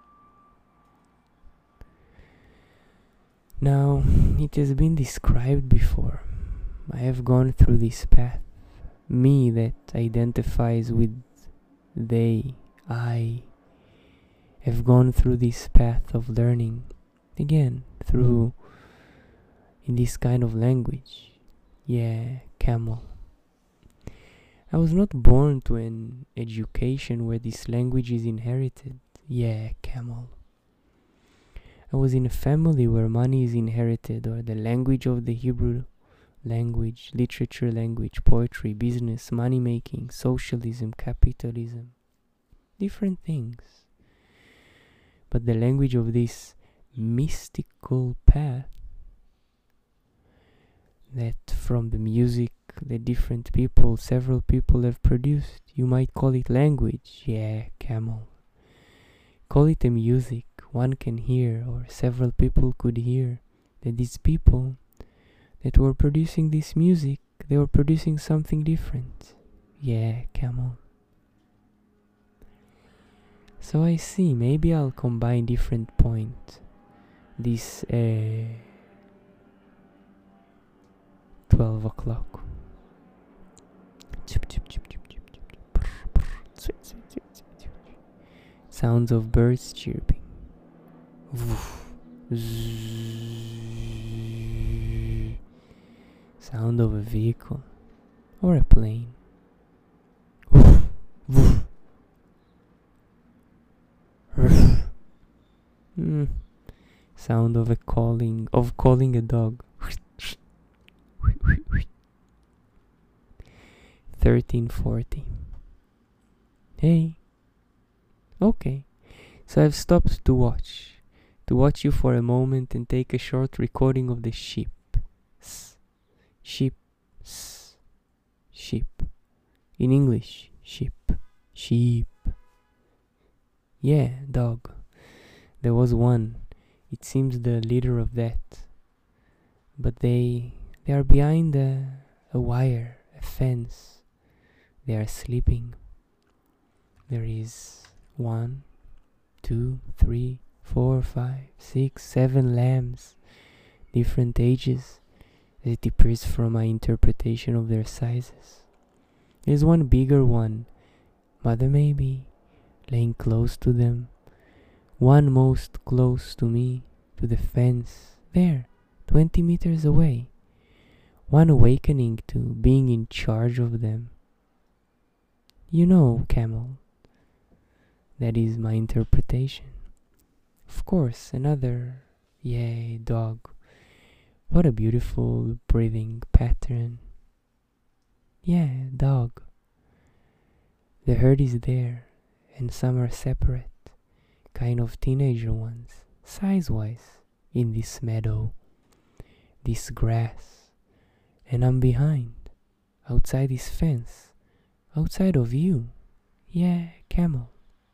Now, it has been described before. I have gone through this path. Me that identifies with they, I, have gone through this path of learning. Again, through, in this kind of language. Yeah, camel. I was not born to an education where this language is inherited. Yeah, camel. I was in a family where money is inherited, or the language of the Hebrew language, literature language, poetry, business, money making, socialism, capitalism. Different things. But the language of this mystical path, that from the music that different people, several people have produced, you might call it language. Yeah, camel. Call it a music one can hear, or several people could hear, that these people that were producing this music, they were producing something different. Yeah, camel. So I see, maybe I'll combine different points. This uh, twelve o'clock. Sounds of birds chirping. Sound of a vehicle or a plane. mm. Sound of a calling of calling a dog. thirteen forty. Hey. Okay. So I've stopped to watch. To watch you for a moment and take a short recording of the sheep. S. Sheep. S. Sheep. In English, sheep. Sheep. Yeah, dog. There was one. It seems the leader of that. But they they are behind a, a wire, a fence. They are sleeping. There is one, two, three, four, five, six, seven lambs, different ages. It appears from my interpretation of their sizes. There's one bigger one, mother maybe, laying close to them. One most close to me, to the fence, there, twenty meters away. One awakening to being in charge of them. You know, camel. That is my interpretation. Of course, another, yay, dog. What a beautiful breathing pattern. Yeah, dog. The herd is there, and some are separate, kind of teenager ones, size-wise, in this meadow, this grass, and I'm behind, outside this fence, outside of you. Yeah, camel.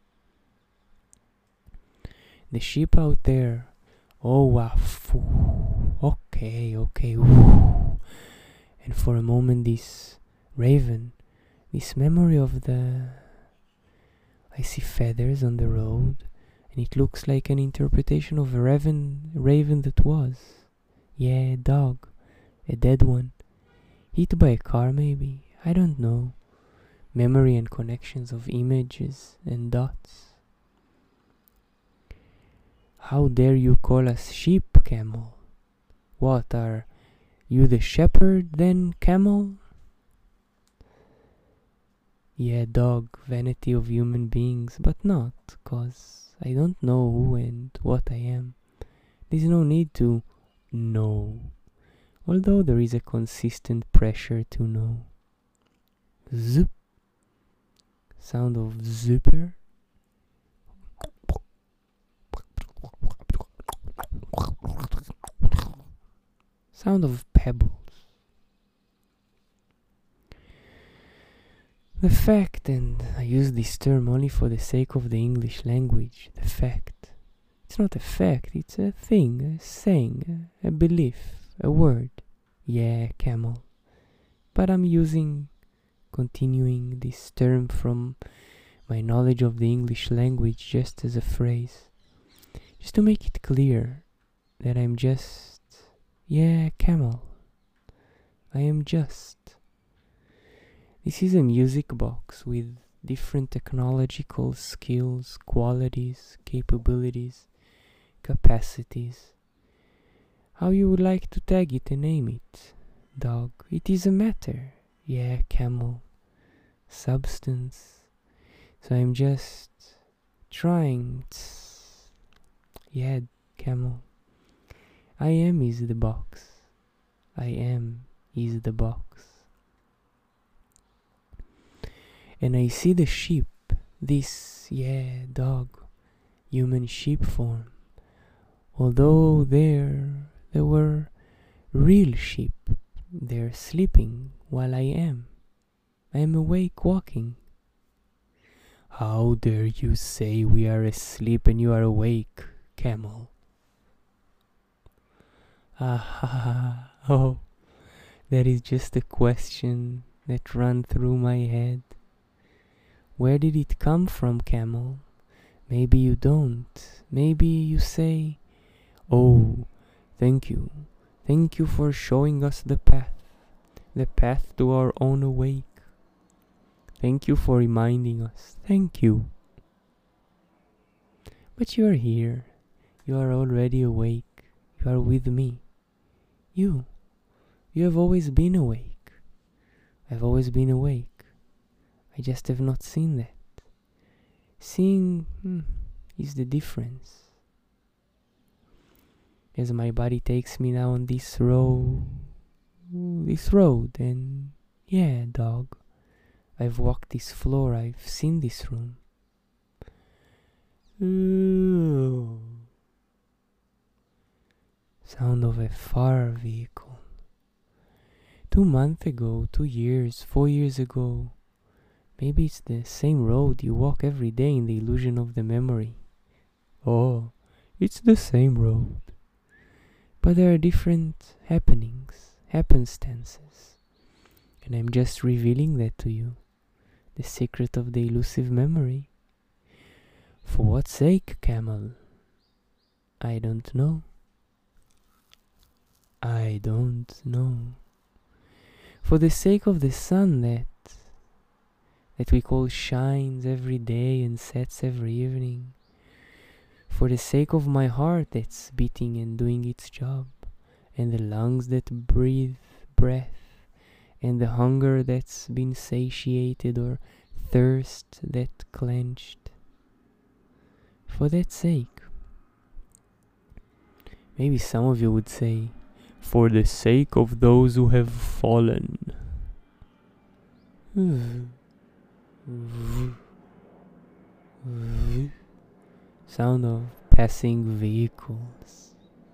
The sheep out there, oh wow, okay, okay, woo. And for a moment this raven, this memory of the, I see feathers on the road, and it looks like an interpretation of a raven, raven that was. Yeah, a dog, a dead one, hit by a car maybe, I don't know. Memory and connections of images and dots. How dare you call us sheep, camel? What, are you the shepherd then, camel? Yeah, dog, vanity of human beings, but not, cause I don't know who and what I am. There's no need to know, although there is a consistent pressure to know. Zoop. Sound of zipper. Sound of pebbles. The fact, and I use this term only for the sake of the English language, the fact. It's not a fact, it's a thing, a saying, a belief, a word. Yeah, camel. But I'm using, continuing this term from my knowledge of the English language just as a phrase. Just to make it clear that I'm just, yeah, camel. I am just. This is a music box with different technological skills, qualities, capabilities, capacities. How you would like to tag it and name it, dog. It is a matter. Yeah, camel. Substance. So I'm just trying. Yeah, camel. I am is the box. I am is the box. And I see the sheep, this, yeah, dog, human sheep form. Although there, there were real sheep, they're sleeping while I am. I am awake walking. How dare you say we are asleep and you are awake, camel? Ah, oh, that is just a question that ran through my head. Where did it come from, camel? Maybe you don't. Maybe you say, oh, thank you. Thank you for showing us the path. The path to our own awake. Thank you for reminding us. Thank you. But you are here. You are already awake. You are with me. You. You have always been awake. I've always been awake. I just have not seen that. Seeing hmm, is the difference. As my body takes me now on this road, this road, and yeah, dog, I've walked this floor, I've seen this room. Ooh. Sound of a far vehicle. Two months ago, two years, four years ago, maybe it's the same road you walk every day in the illusion of the memory. Oh, it's the same road. But there are different happenings, happenstances. And I'm just revealing that to you. The secret of the elusive memory. For what sake, camel? I don't know. I don't know. For the sake of the sun that that we call shines every day and sets every evening, for the sake of my heart that's beating and doing its job, and the lungs that breathe breath, and the hunger that's been satiated or thirst that clenched. For that sake. Maybe some of you would say, for the sake of those who have fallen. Sound of passing vehicles.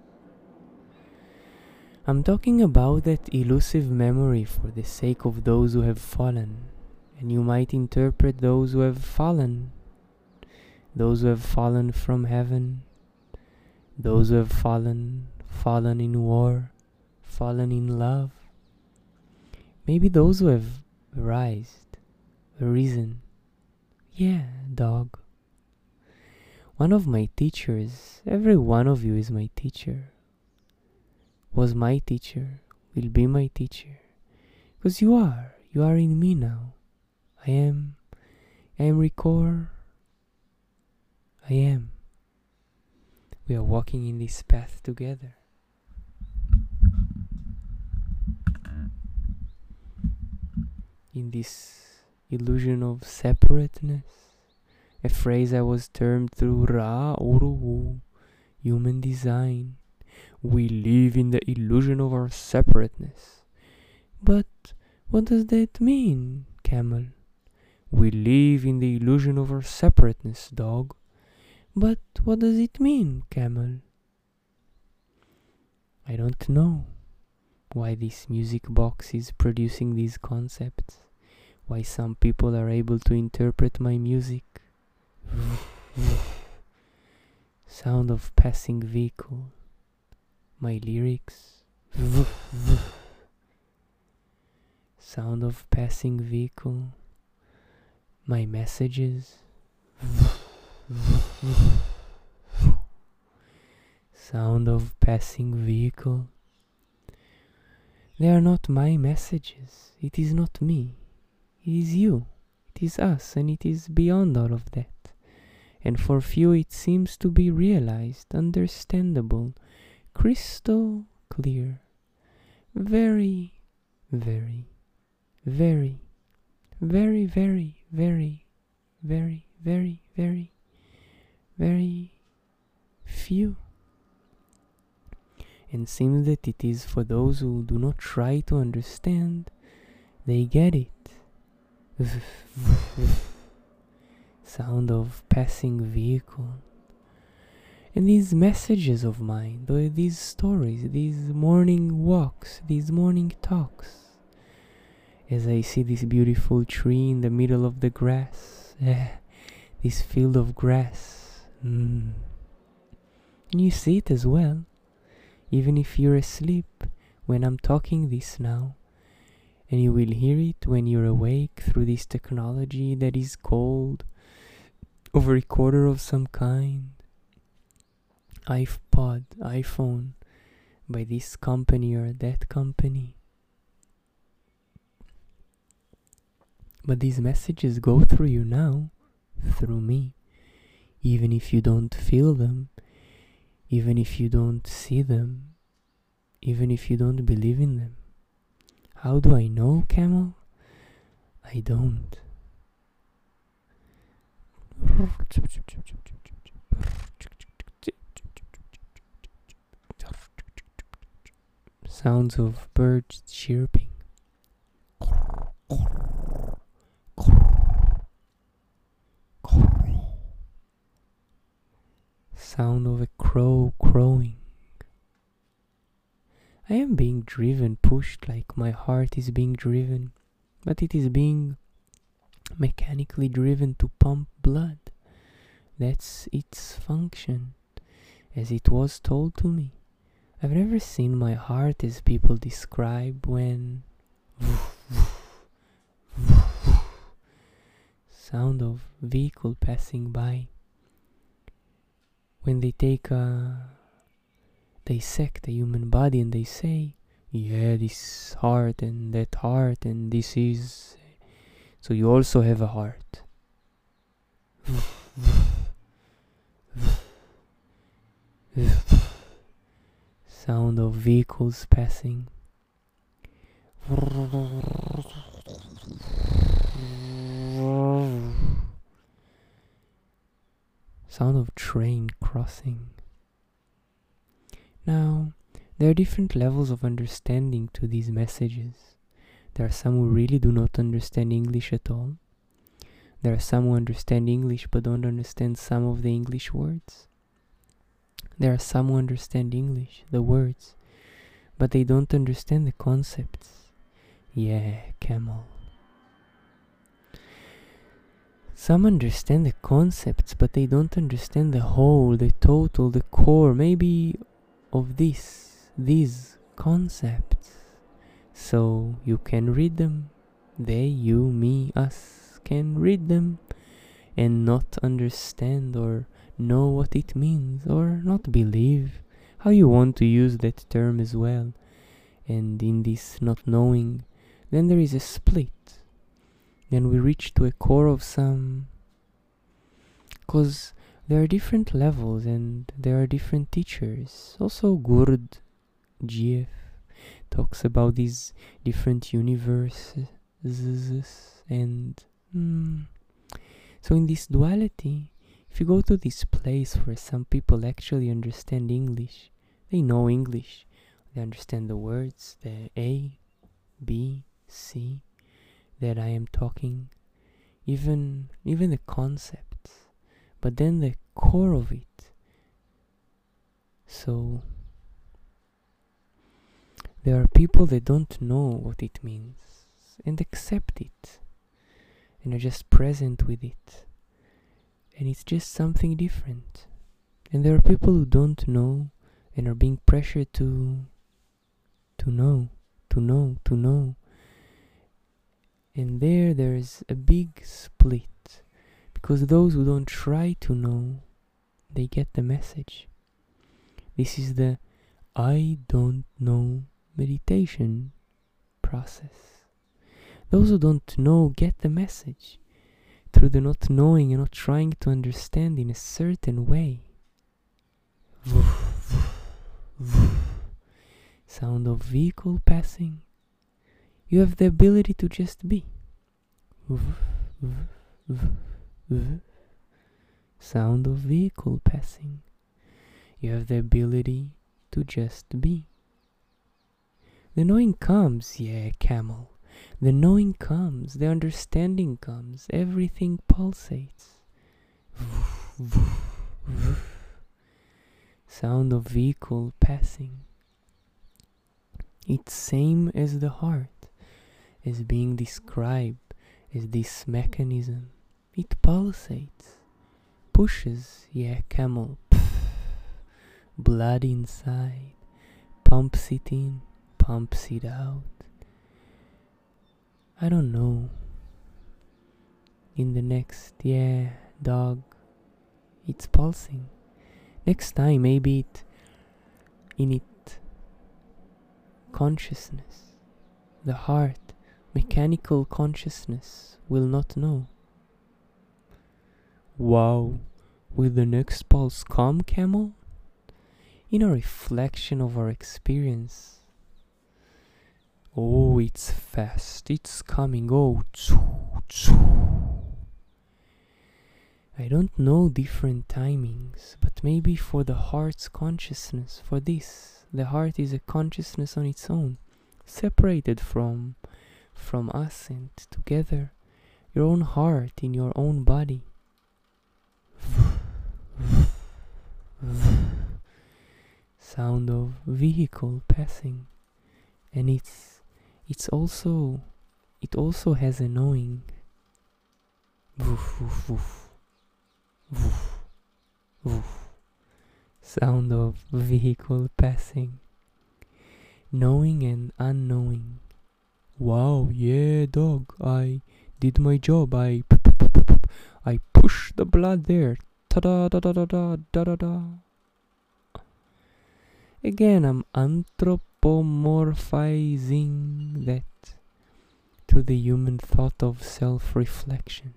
I'm talking about that elusive memory for the sake of those who have fallen. And you might interpret those who have fallen, those who have fallen from heaven, those who have fallen, fallen in war, fallen in love. Maybe those who have rised, risen. Yeah, dog. One of my teachers, every one of you is my teacher, was my teacher, will be my teacher. Because you are, you are in me now. I am, I am Ricor. I am. We are walking in this path together. In this illusion of separateness, a phrase I was termed through Ra Uruhu, human design. We live in the illusion of our separateness. But what does that mean, camel? We live in the illusion of our separateness, dog. But what does it mean, camel? I don't know why this music box is producing these concepts, why some people are able to interpret my music. Sound of passing vehicle, my lyrics. Sound of passing vehicle, my messages. Sound of passing vehicle. They are not my messages. It is not me. It is you. It is us, and it is beyond all of that. And for few it seems to be realized, understandable, crystal clear. Very, very, very, very, very, very, very, very, very, very few. And seems that it is for those who do not try to understand, they get it. Sound of passing vehicle. And these messages of mine, these stories, these morning walks, these morning talks, as I see this beautiful tree in the middle of the grass, eh, this field of grass, mm. And you see it as well, even if you're asleep when I'm talking this now, and you will hear it when you're awake through this technology that is called of a recorder of some kind, iPod, iPhone, by this company or that company. But these messages go through you now, through me, even if you don't feel them, even if you don't see them, even if you don't believe in them. How do I know, camel? I don't. Sounds of birds chirping. Sound of a crow crowing. I am being driven, pushed like my heart is being driven, but it is being mechanically driven to pump blood. That's its function, as it was told to me. I've never seen my heart as people describe when sound of vehicle passing by. When they take a dissect a human body and they say, yeah, this heart and that heart and this is So you also have a heart. Sound of vehicles passing. Sound of train crossing. Now, there are different levels of understanding to these messages. There are some who really do not understand English at all. There are some who understand English but don't understand some of the English words. There are some who understand English, the words, but they don't understand the concepts. Yeah, camel. Some understand the concepts, but they don't understand the whole, the total, the core, maybe of this, these concepts. So you can read them. They, you, me, us can read them and not understand or know what it means or not believe. How you want to use that term as well. And in this not knowing, then there is a split. Then we reach to a core of some, because there are different levels and there are different teachers. Also Gurd G F talks about these different universes and mm, so in this duality, if you go to this place where some people actually understand English, they know English, they understand the words, the A, B, C that I am talking, even even the concepts, but then the core of it. So there are people that don't know what it means and accept it and are just present with it, and it's just something different. And there are people who don't know and are being pressured to to know, to know, to know. And there, there's a big split, because those who don't try to know, they get the message. This is the I don't know meditation process. Those who don't know get the message through the not knowing and not trying to understand in a certain way. Sound of vehicle passing. You have the ability to just be. Sound of vehicle passing. You have the ability to just be. The knowing comes, yeah, camel. The knowing comes, the understanding comes, everything pulsates. Sound of vehicle passing. It's same as the heart, as being described as this mechanism. It pulsates, pushes, yeah, camel, blood inside, pumps it in, pumps it out. I don't know. In the next, yeah, dog, it's pulsing. Next time, maybe it, in it, consciousness, the heart, mechanical consciousness will not know. Wow, will the next pulse come, camel? In a reflection of our experience. Oh, it's fast, it's coming, oh, choo, choo. I don't know different timings, but maybe for the heart's consciousness, for this, the heart is a consciousness on its own, separated from, from us and together, your own heart in your own body. Sound of vehicle passing, and it's it's also it also has a knowing. Woof, woof, woof. Woof, woof. Sound of vehicle passing, knowing and unknowing. Wow, yeah, dog, I did my job. I p- p- p- p- p- I pushed the blood there. Ta da da da da da da da da. Again, I'm anthropomorphizing that to the human thought of self-reflection.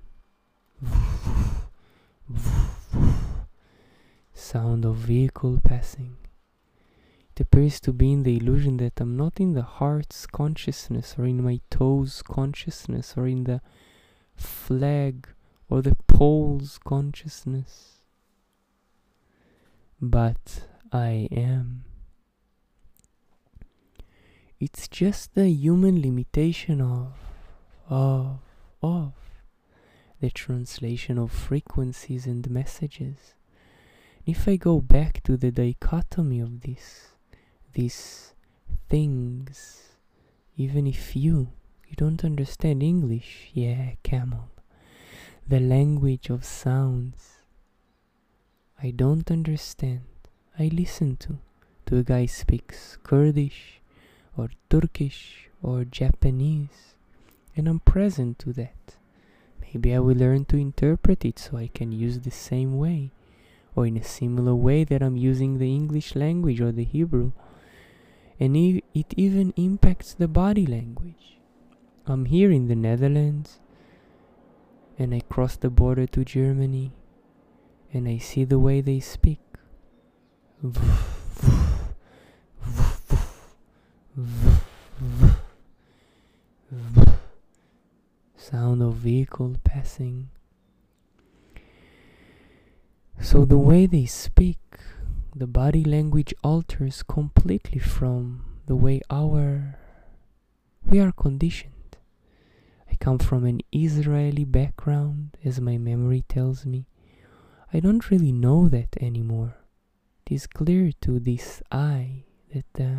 Sound of vehicle passing. It appears to be in the illusion that I'm not in the heart's consciousness or in my toes consciousness or in the flag or the pole's consciousness, but I am. It's just the human limitation of, of, of the translation of frequencies and messages. If I go back to the dichotomy of this, these things, even if you, you don't understand English, yeah, camel, the language of sounds, I don't understand. I listen to, to a guy speaks Kurdish, or Turkish, or Japanese, and I'm present to that. Maybe I will learn to interpret it so I can use the same way, or in a similar way that I'm using the English language or the Hebrew. And e- it even impacts the body language. I'm here in the Netherlands, and I cross the border to Germany, and I see the way they speak. Sound of vehicle passing. So the way they speak, the body language alters completely from the way our we are conditioned. I come from an Israeli background, as my memory tells me. I don't really know that anymore. It is clear to this I that uh,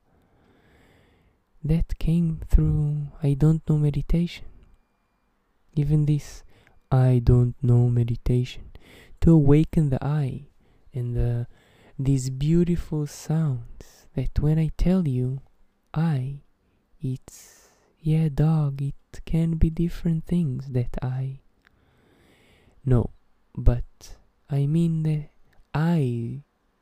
that came through I don't know meditation. Even this I don't know meditation, to awaken the I and the these beautiful sounds that when I tell you I, it's, yeah, dog, it can be different things that I. No, but I mean the I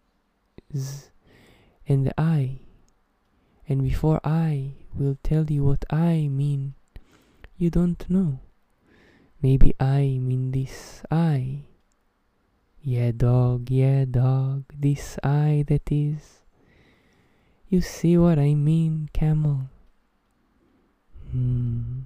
and the I. And before I will tell you what I mean, you don't know. Maybe I mean this I. Yeah, dog, yeah, dog, this I that is. You see what I mean, camel? Hmm.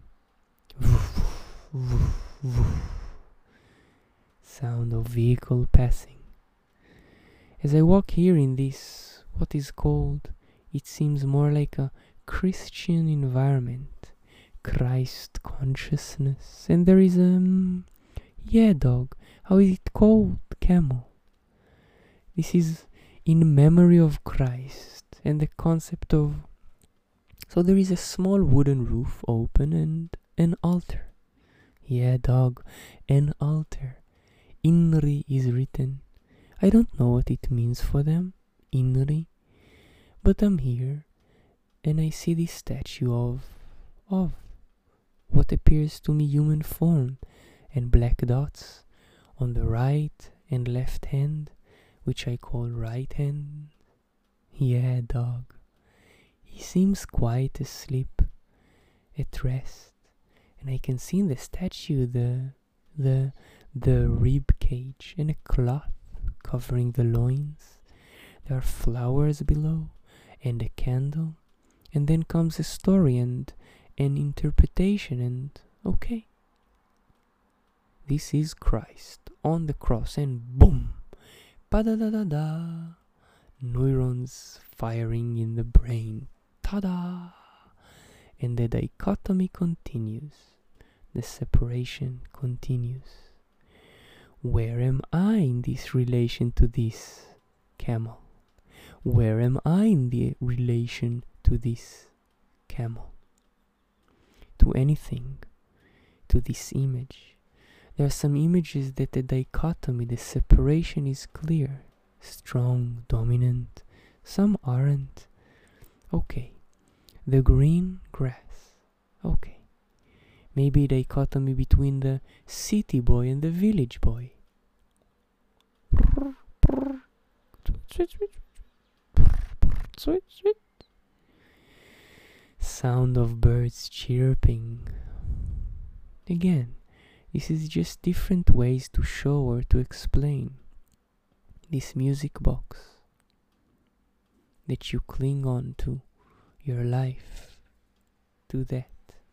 Sound of vehicle passing. As I walk here in this, what is called, it seems more like a Christian environment, Christ consciousness, and there is a, um, yeah, dog, how is it called, camel? This is in memory of Christ and the concept of, so there is a small wooden roof open and an altar. Yeah, dog, an altar. Inri is written. I don't know what it means for them, Inri, but I'm here and I see this statue of, of what appears to me human form and black dots on the right and left hand, which I call right hand. Yeah, dog. He seems quite asleep, at rest, and I can see in the statue the the the rib cage and a cloth covering the loins. There are flowers below and a candle, and then comes a story and an interpretation, and okay, this is Christ on the cross, and boom, pa-da-da-da-da, neurons firing in the brain, ta-da, and the dichotomy continues, the separation continues. Where am I in this relation to this camel? Where am I in the relation to this camel? To anything, to this image. There are some images that the dichotomy, the separation is clear, strong, dominant. Some aren't. Okay. The green grass. Okay. Maybe a dichotomy between the city boy and the village boy. Sound of birds chirping. Again, this is just different ways to show or to explain this music box that you cling on to your life, to that.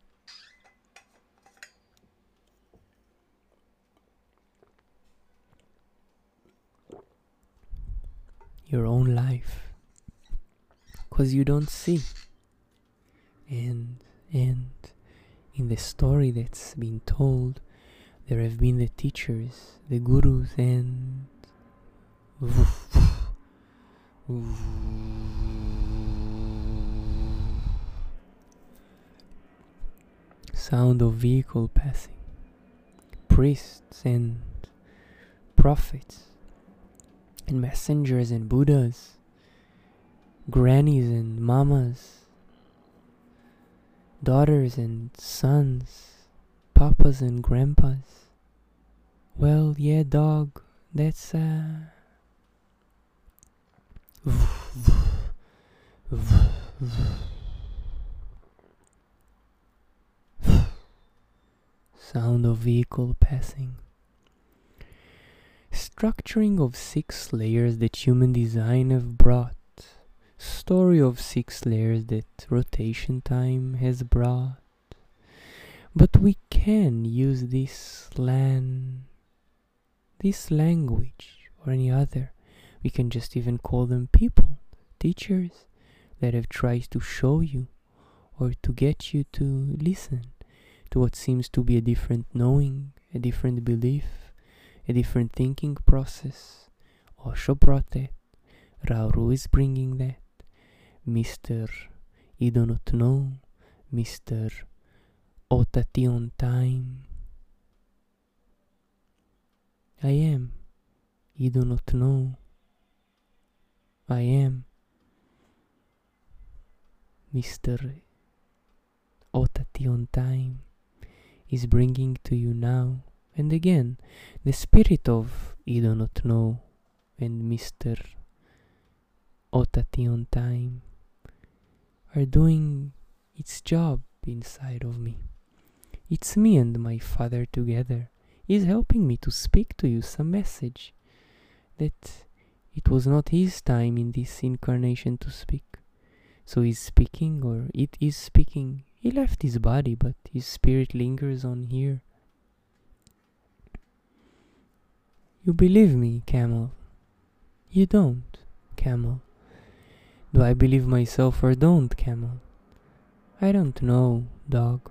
Your own life, because you don't see. And and in the story that's been told, there have been the teachers, the gurus, and sound of vehicle passing, priests and prophets, and messengers and Buddhas, grannies and mamas, daughters and sons, papas and grandpas. Well, yeah, dog, that's uh sound of vehicle passing. Structuring of six layers that human design have brought. Story of six layers that rotation time has brought. But we can use this lan this language or any other. We can just even call them people, teachers that have tried to show you or to get you to listen to what seems to be a different knowing, a different belief, a different thinking process. Osho brought that. Rauru is bringing that. Mister I do not know. Mister Otati on time. I am. I do not know. I am. Mister Otati on time is bringing to you now. And again, the spirit of I do not know and Mister Otati on time are doing its job inside of me. It's me and my Father together. He's helping me to speak to you some message that it was not his time in this incarnation to speak. So he's speaking, or it is speaking. He left his body, but his spirit lingers on here. You believe me, Camel? You don't, Camel. Do I believe myself or don't, Camel? I don't know, dog.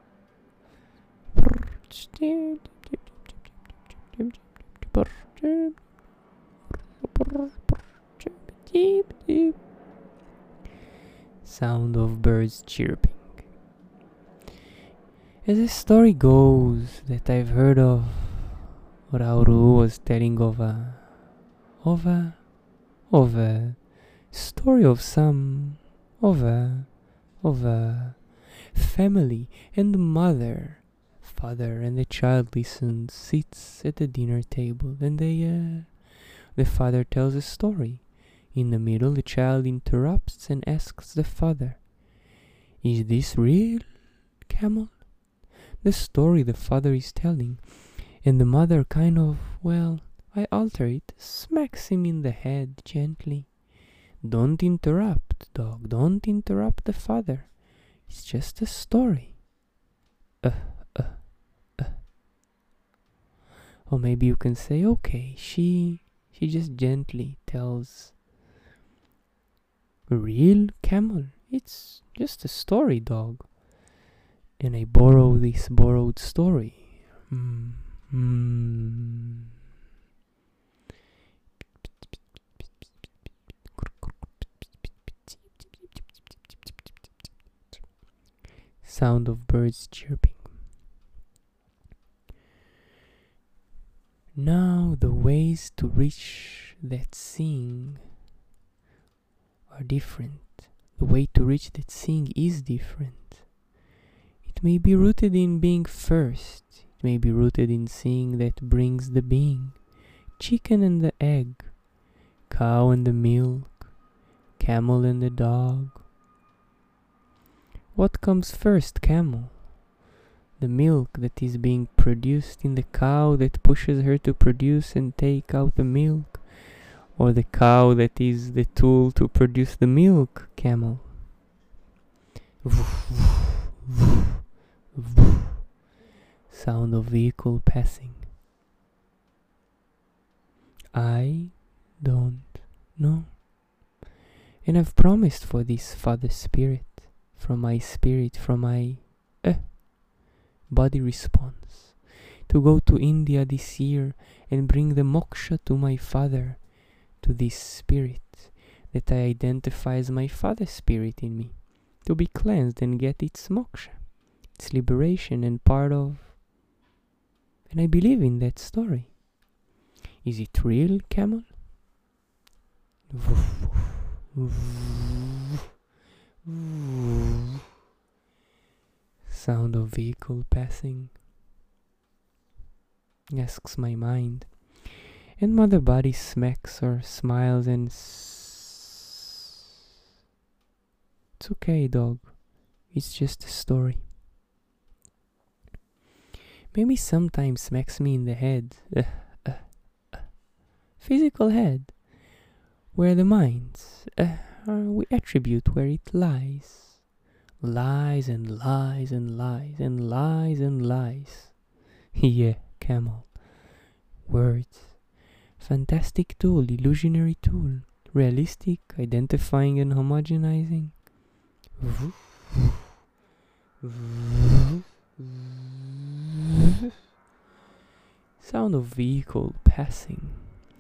Sound of birds chirping. As the story goes that I've heard of, Rauru was telling of a, of a, of a story of some, of a, of a family and mother, father and the child listens, sits at the dinner table, and they, uh, the father tells a story. In the middle, the child interrupts and asks the father, "Is this real, Camel?" The story the father is telling, and the mother kind of, well, I alter it, smacks him in the head gently. Don't interrupt, dog, don't interrupt the father. It's just a story. Uh, uh, uh. Or maybe you can say, okay, she, she just gently tells, "Real, Camel? It's just a story, dog." And I borrow this borrowed story. Mm. Mm. Sound of birds chirping. Now the ways to reach that seeing are different. The way to reach that seeing is different. It may be rooted in being first. It may be rooted in seeing that brings the being. Chicken and the egg. Cow and the milk. Camel and the dog. What comes first, camel? The milk that is being produced in the cow that pushes her to produce and take out the milk? Or the cow that is the tool to produce the milk, camel? Sound of vehicle passing. I don't know. And I've promised for this Father Spirit, from my spirit, from my uh, body response, to go to India this year and bring the moksha to my Father, to this spirit that I identify as my Father Spirit in me, to be cleansed and get its moksha, its liberation and part of. And I believe in that story. Is it real, camel? Sound of vehicle passing, asks my mind. And mother body smacks or smiles and s- it's okay, dog. It's just a story. Maybe sometimes smacks me in the head. Uh, uh, uh, physical head. Where the minds, uh, we attribute where it lies. Lies and lies and lies and lies and lies. Yeah, camel. Words. Fantastic tool, illusionary tool. Realistic, identifying and homogenizing. Sound of vehicle passing.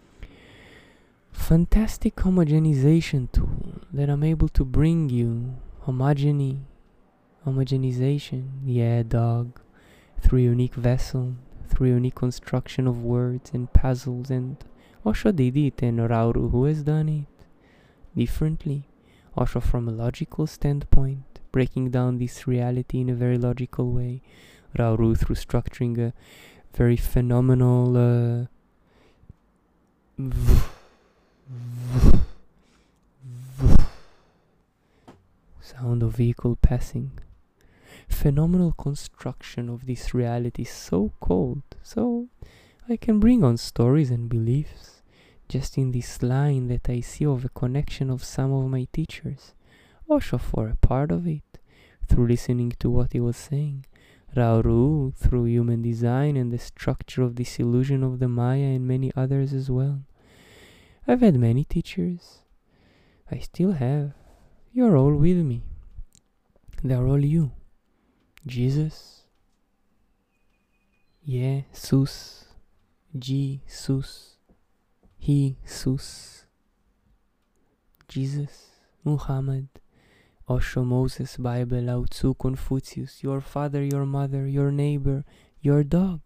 Fantastic homogenization tool that I'm able to bring you homogeny, homogenization, yeah, dog, through unique vessel, through unique construction of words and puzzles. And Osho did it, and Rauru, who has done it differently, Osho from a logical standpoint, breaking down this reality in a very logical way, Rauru through structuring a very phenomenal uh, sound of vehicle passing, phenomenal construction of this reality, so cold, so I can bring on stories and beliefs just in this line that I see of a connection of some of my teachers, Osho for a part of it, through listening to what he was saying, Rauru through human design and the structure of this illusion of the Maya, and many others as well. I've had many teachers. I still have. You're all with me. They're all you. Jesus. Yeah, Sus. Jesus. He, Sus. Jesus. Muhammad. Osho, Moses, Bible, Lao Tzu, Confucius, your father, your mother, your neighbor, your dog.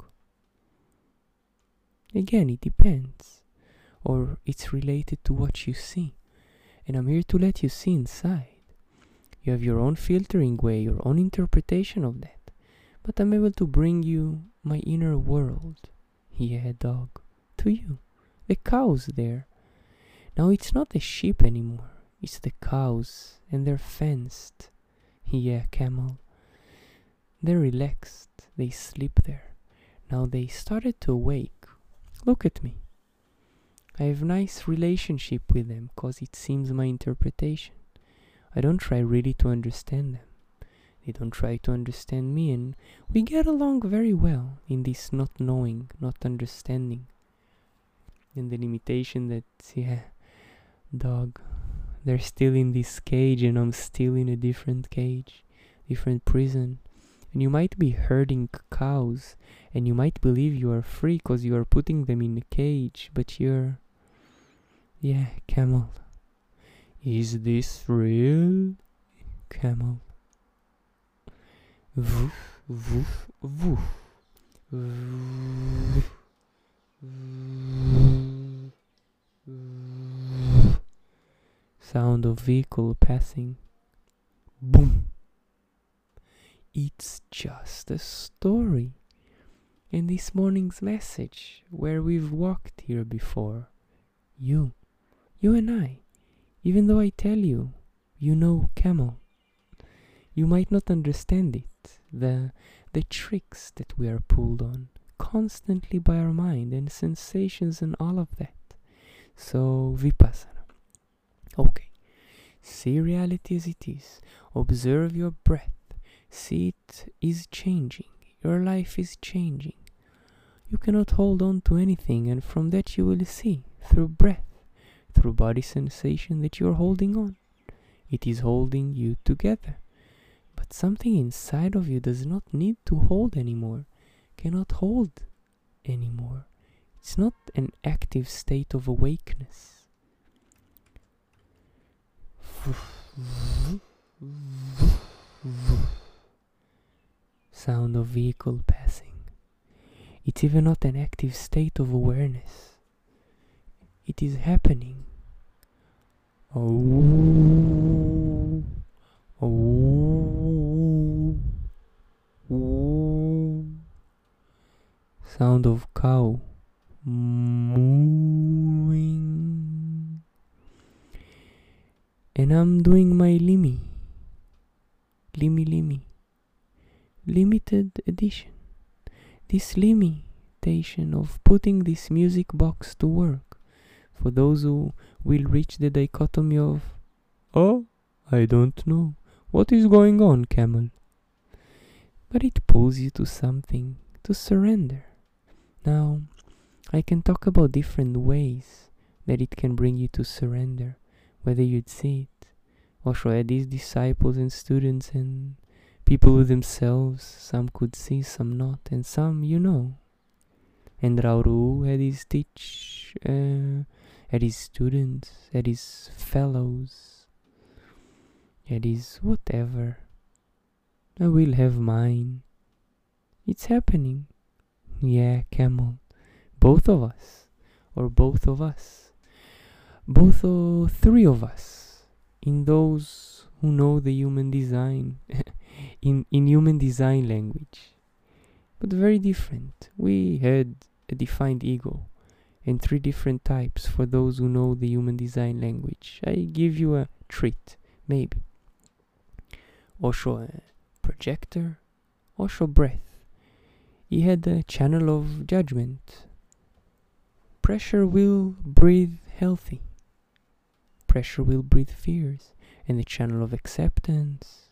Again, it depends. Or it's related to what you see. And I'm here to let you see inside. You have your own filtering way, your own interpretation of that. But I'm able to bring you my inner world. Yeah, dog. To you. The cows there. Now it's not the sheep anymore. It's the cows. And they're fenced. Yeah, camel. They're relaxed. They sleep there. Now they started to awake. Look at me. I have nice relationship with them, cause it seems my interpretation. I don't try really to understand them. They don't try to understand me, and we get along very well in this not knowing, not understanding. And the limitation that, yeah, dog, they're still in this cage and I'm still in a different cage, different prison. And you might be herding cows and you might believe you are free cause you are putting them in a cage, but you're, yeah, camel. Is this real? Camel. Woof, woof, woof. Woof, woof. Sound of vehicle passing. Boom. It's just a story. In this morning's message, where we've walked here before. You. You and I. Even though I tell you, you know camel. You might not understand it, the, the tricks that we are pulled on constantly by our mind and sensations and all of that. So, Vipassana. Okay. See reality as it is. Observe your breath. See it is changing. Your life is changing. You cannot hold on to anything, and from that you will see, through breath, through body sensation, that you are holding on. It is holding you together. But something inside of you does not need to hold anymore, cannot hold anymore. It's not an active state of awakeness. Sound of vehicle passing. It's even not an active state of awareness. It is happening. Oh, oh, oh. Sound of cow mooing. And I'm doing my Limi. Limi Limi. Limited edition. This limitation of putting this music box to work. For those who will reach the dichotomy of, oh, I don't know. What is going on, camel? But it pulls you to something, to surrender. Now, I can talk about different ways that it can bring you to surrender, whether you'd see it. Osho had these disciples and students and people with themselves. Some could see, some not, and some you know. And Rauru had his teach, uh, had his students, had his fellows, had his whatever. I will have mine. It's happening. Yeah, camel. Both of us. Or both of us. Both or three of us. In those who know the human design. in, in human design language. But very different. We had a defined ego. And three different types for those who know the human design language. I give you a treat. Maybe. Osho a projector. Osho breath. He had a channel of judgment. Pressure will breathe healthy. Pressure will breathe fears. And the channel of acceptance,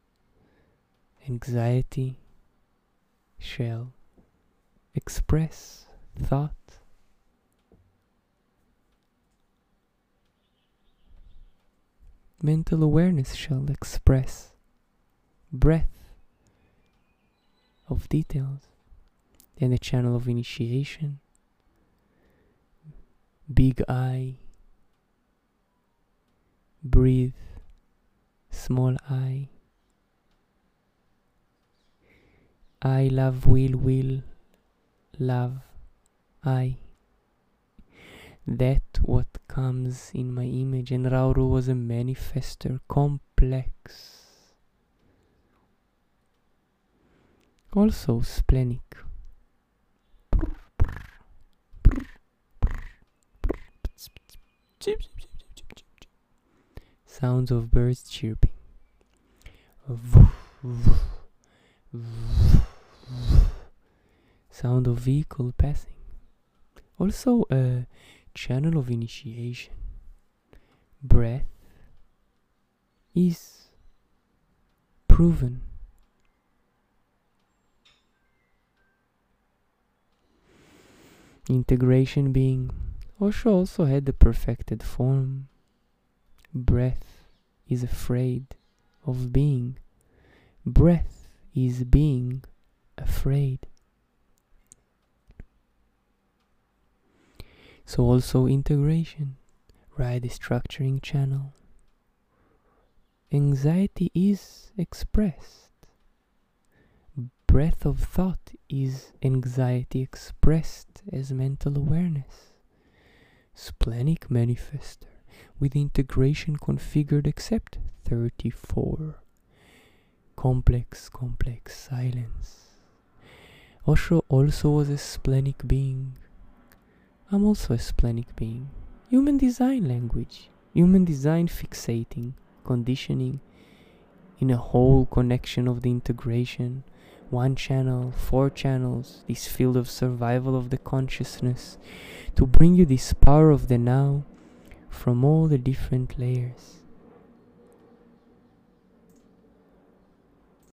anxiety, shall express thought. Mental awareness shall express breath of details. And the channel of initiation, big eye, breathe, small eye, I love will will love I. That what comes in my image, and Rauru was a manifester, complex. Also splenic. Sounds of birds chirping. Sound of vehicle passing. Also a channel of initiation. Breath is proven. Integration being, Osho also had the perfected form. Breath is afraid of being. Breath is being afraid. So also integration, right? The structuring channel. Anxiety is expressed. Breath of thought is anxiety expressed as mental awareness. Splenic manifester with integration configured except thirty-four. Complex, complex silence. Osho also was a splenic being. I'm also a splenic being. Human design language. Human design fixating, conditioning, in a whole connection of the integration. One channel, four channels, this field of survival of the consciousness, to bring you this power of the now from all the different layers.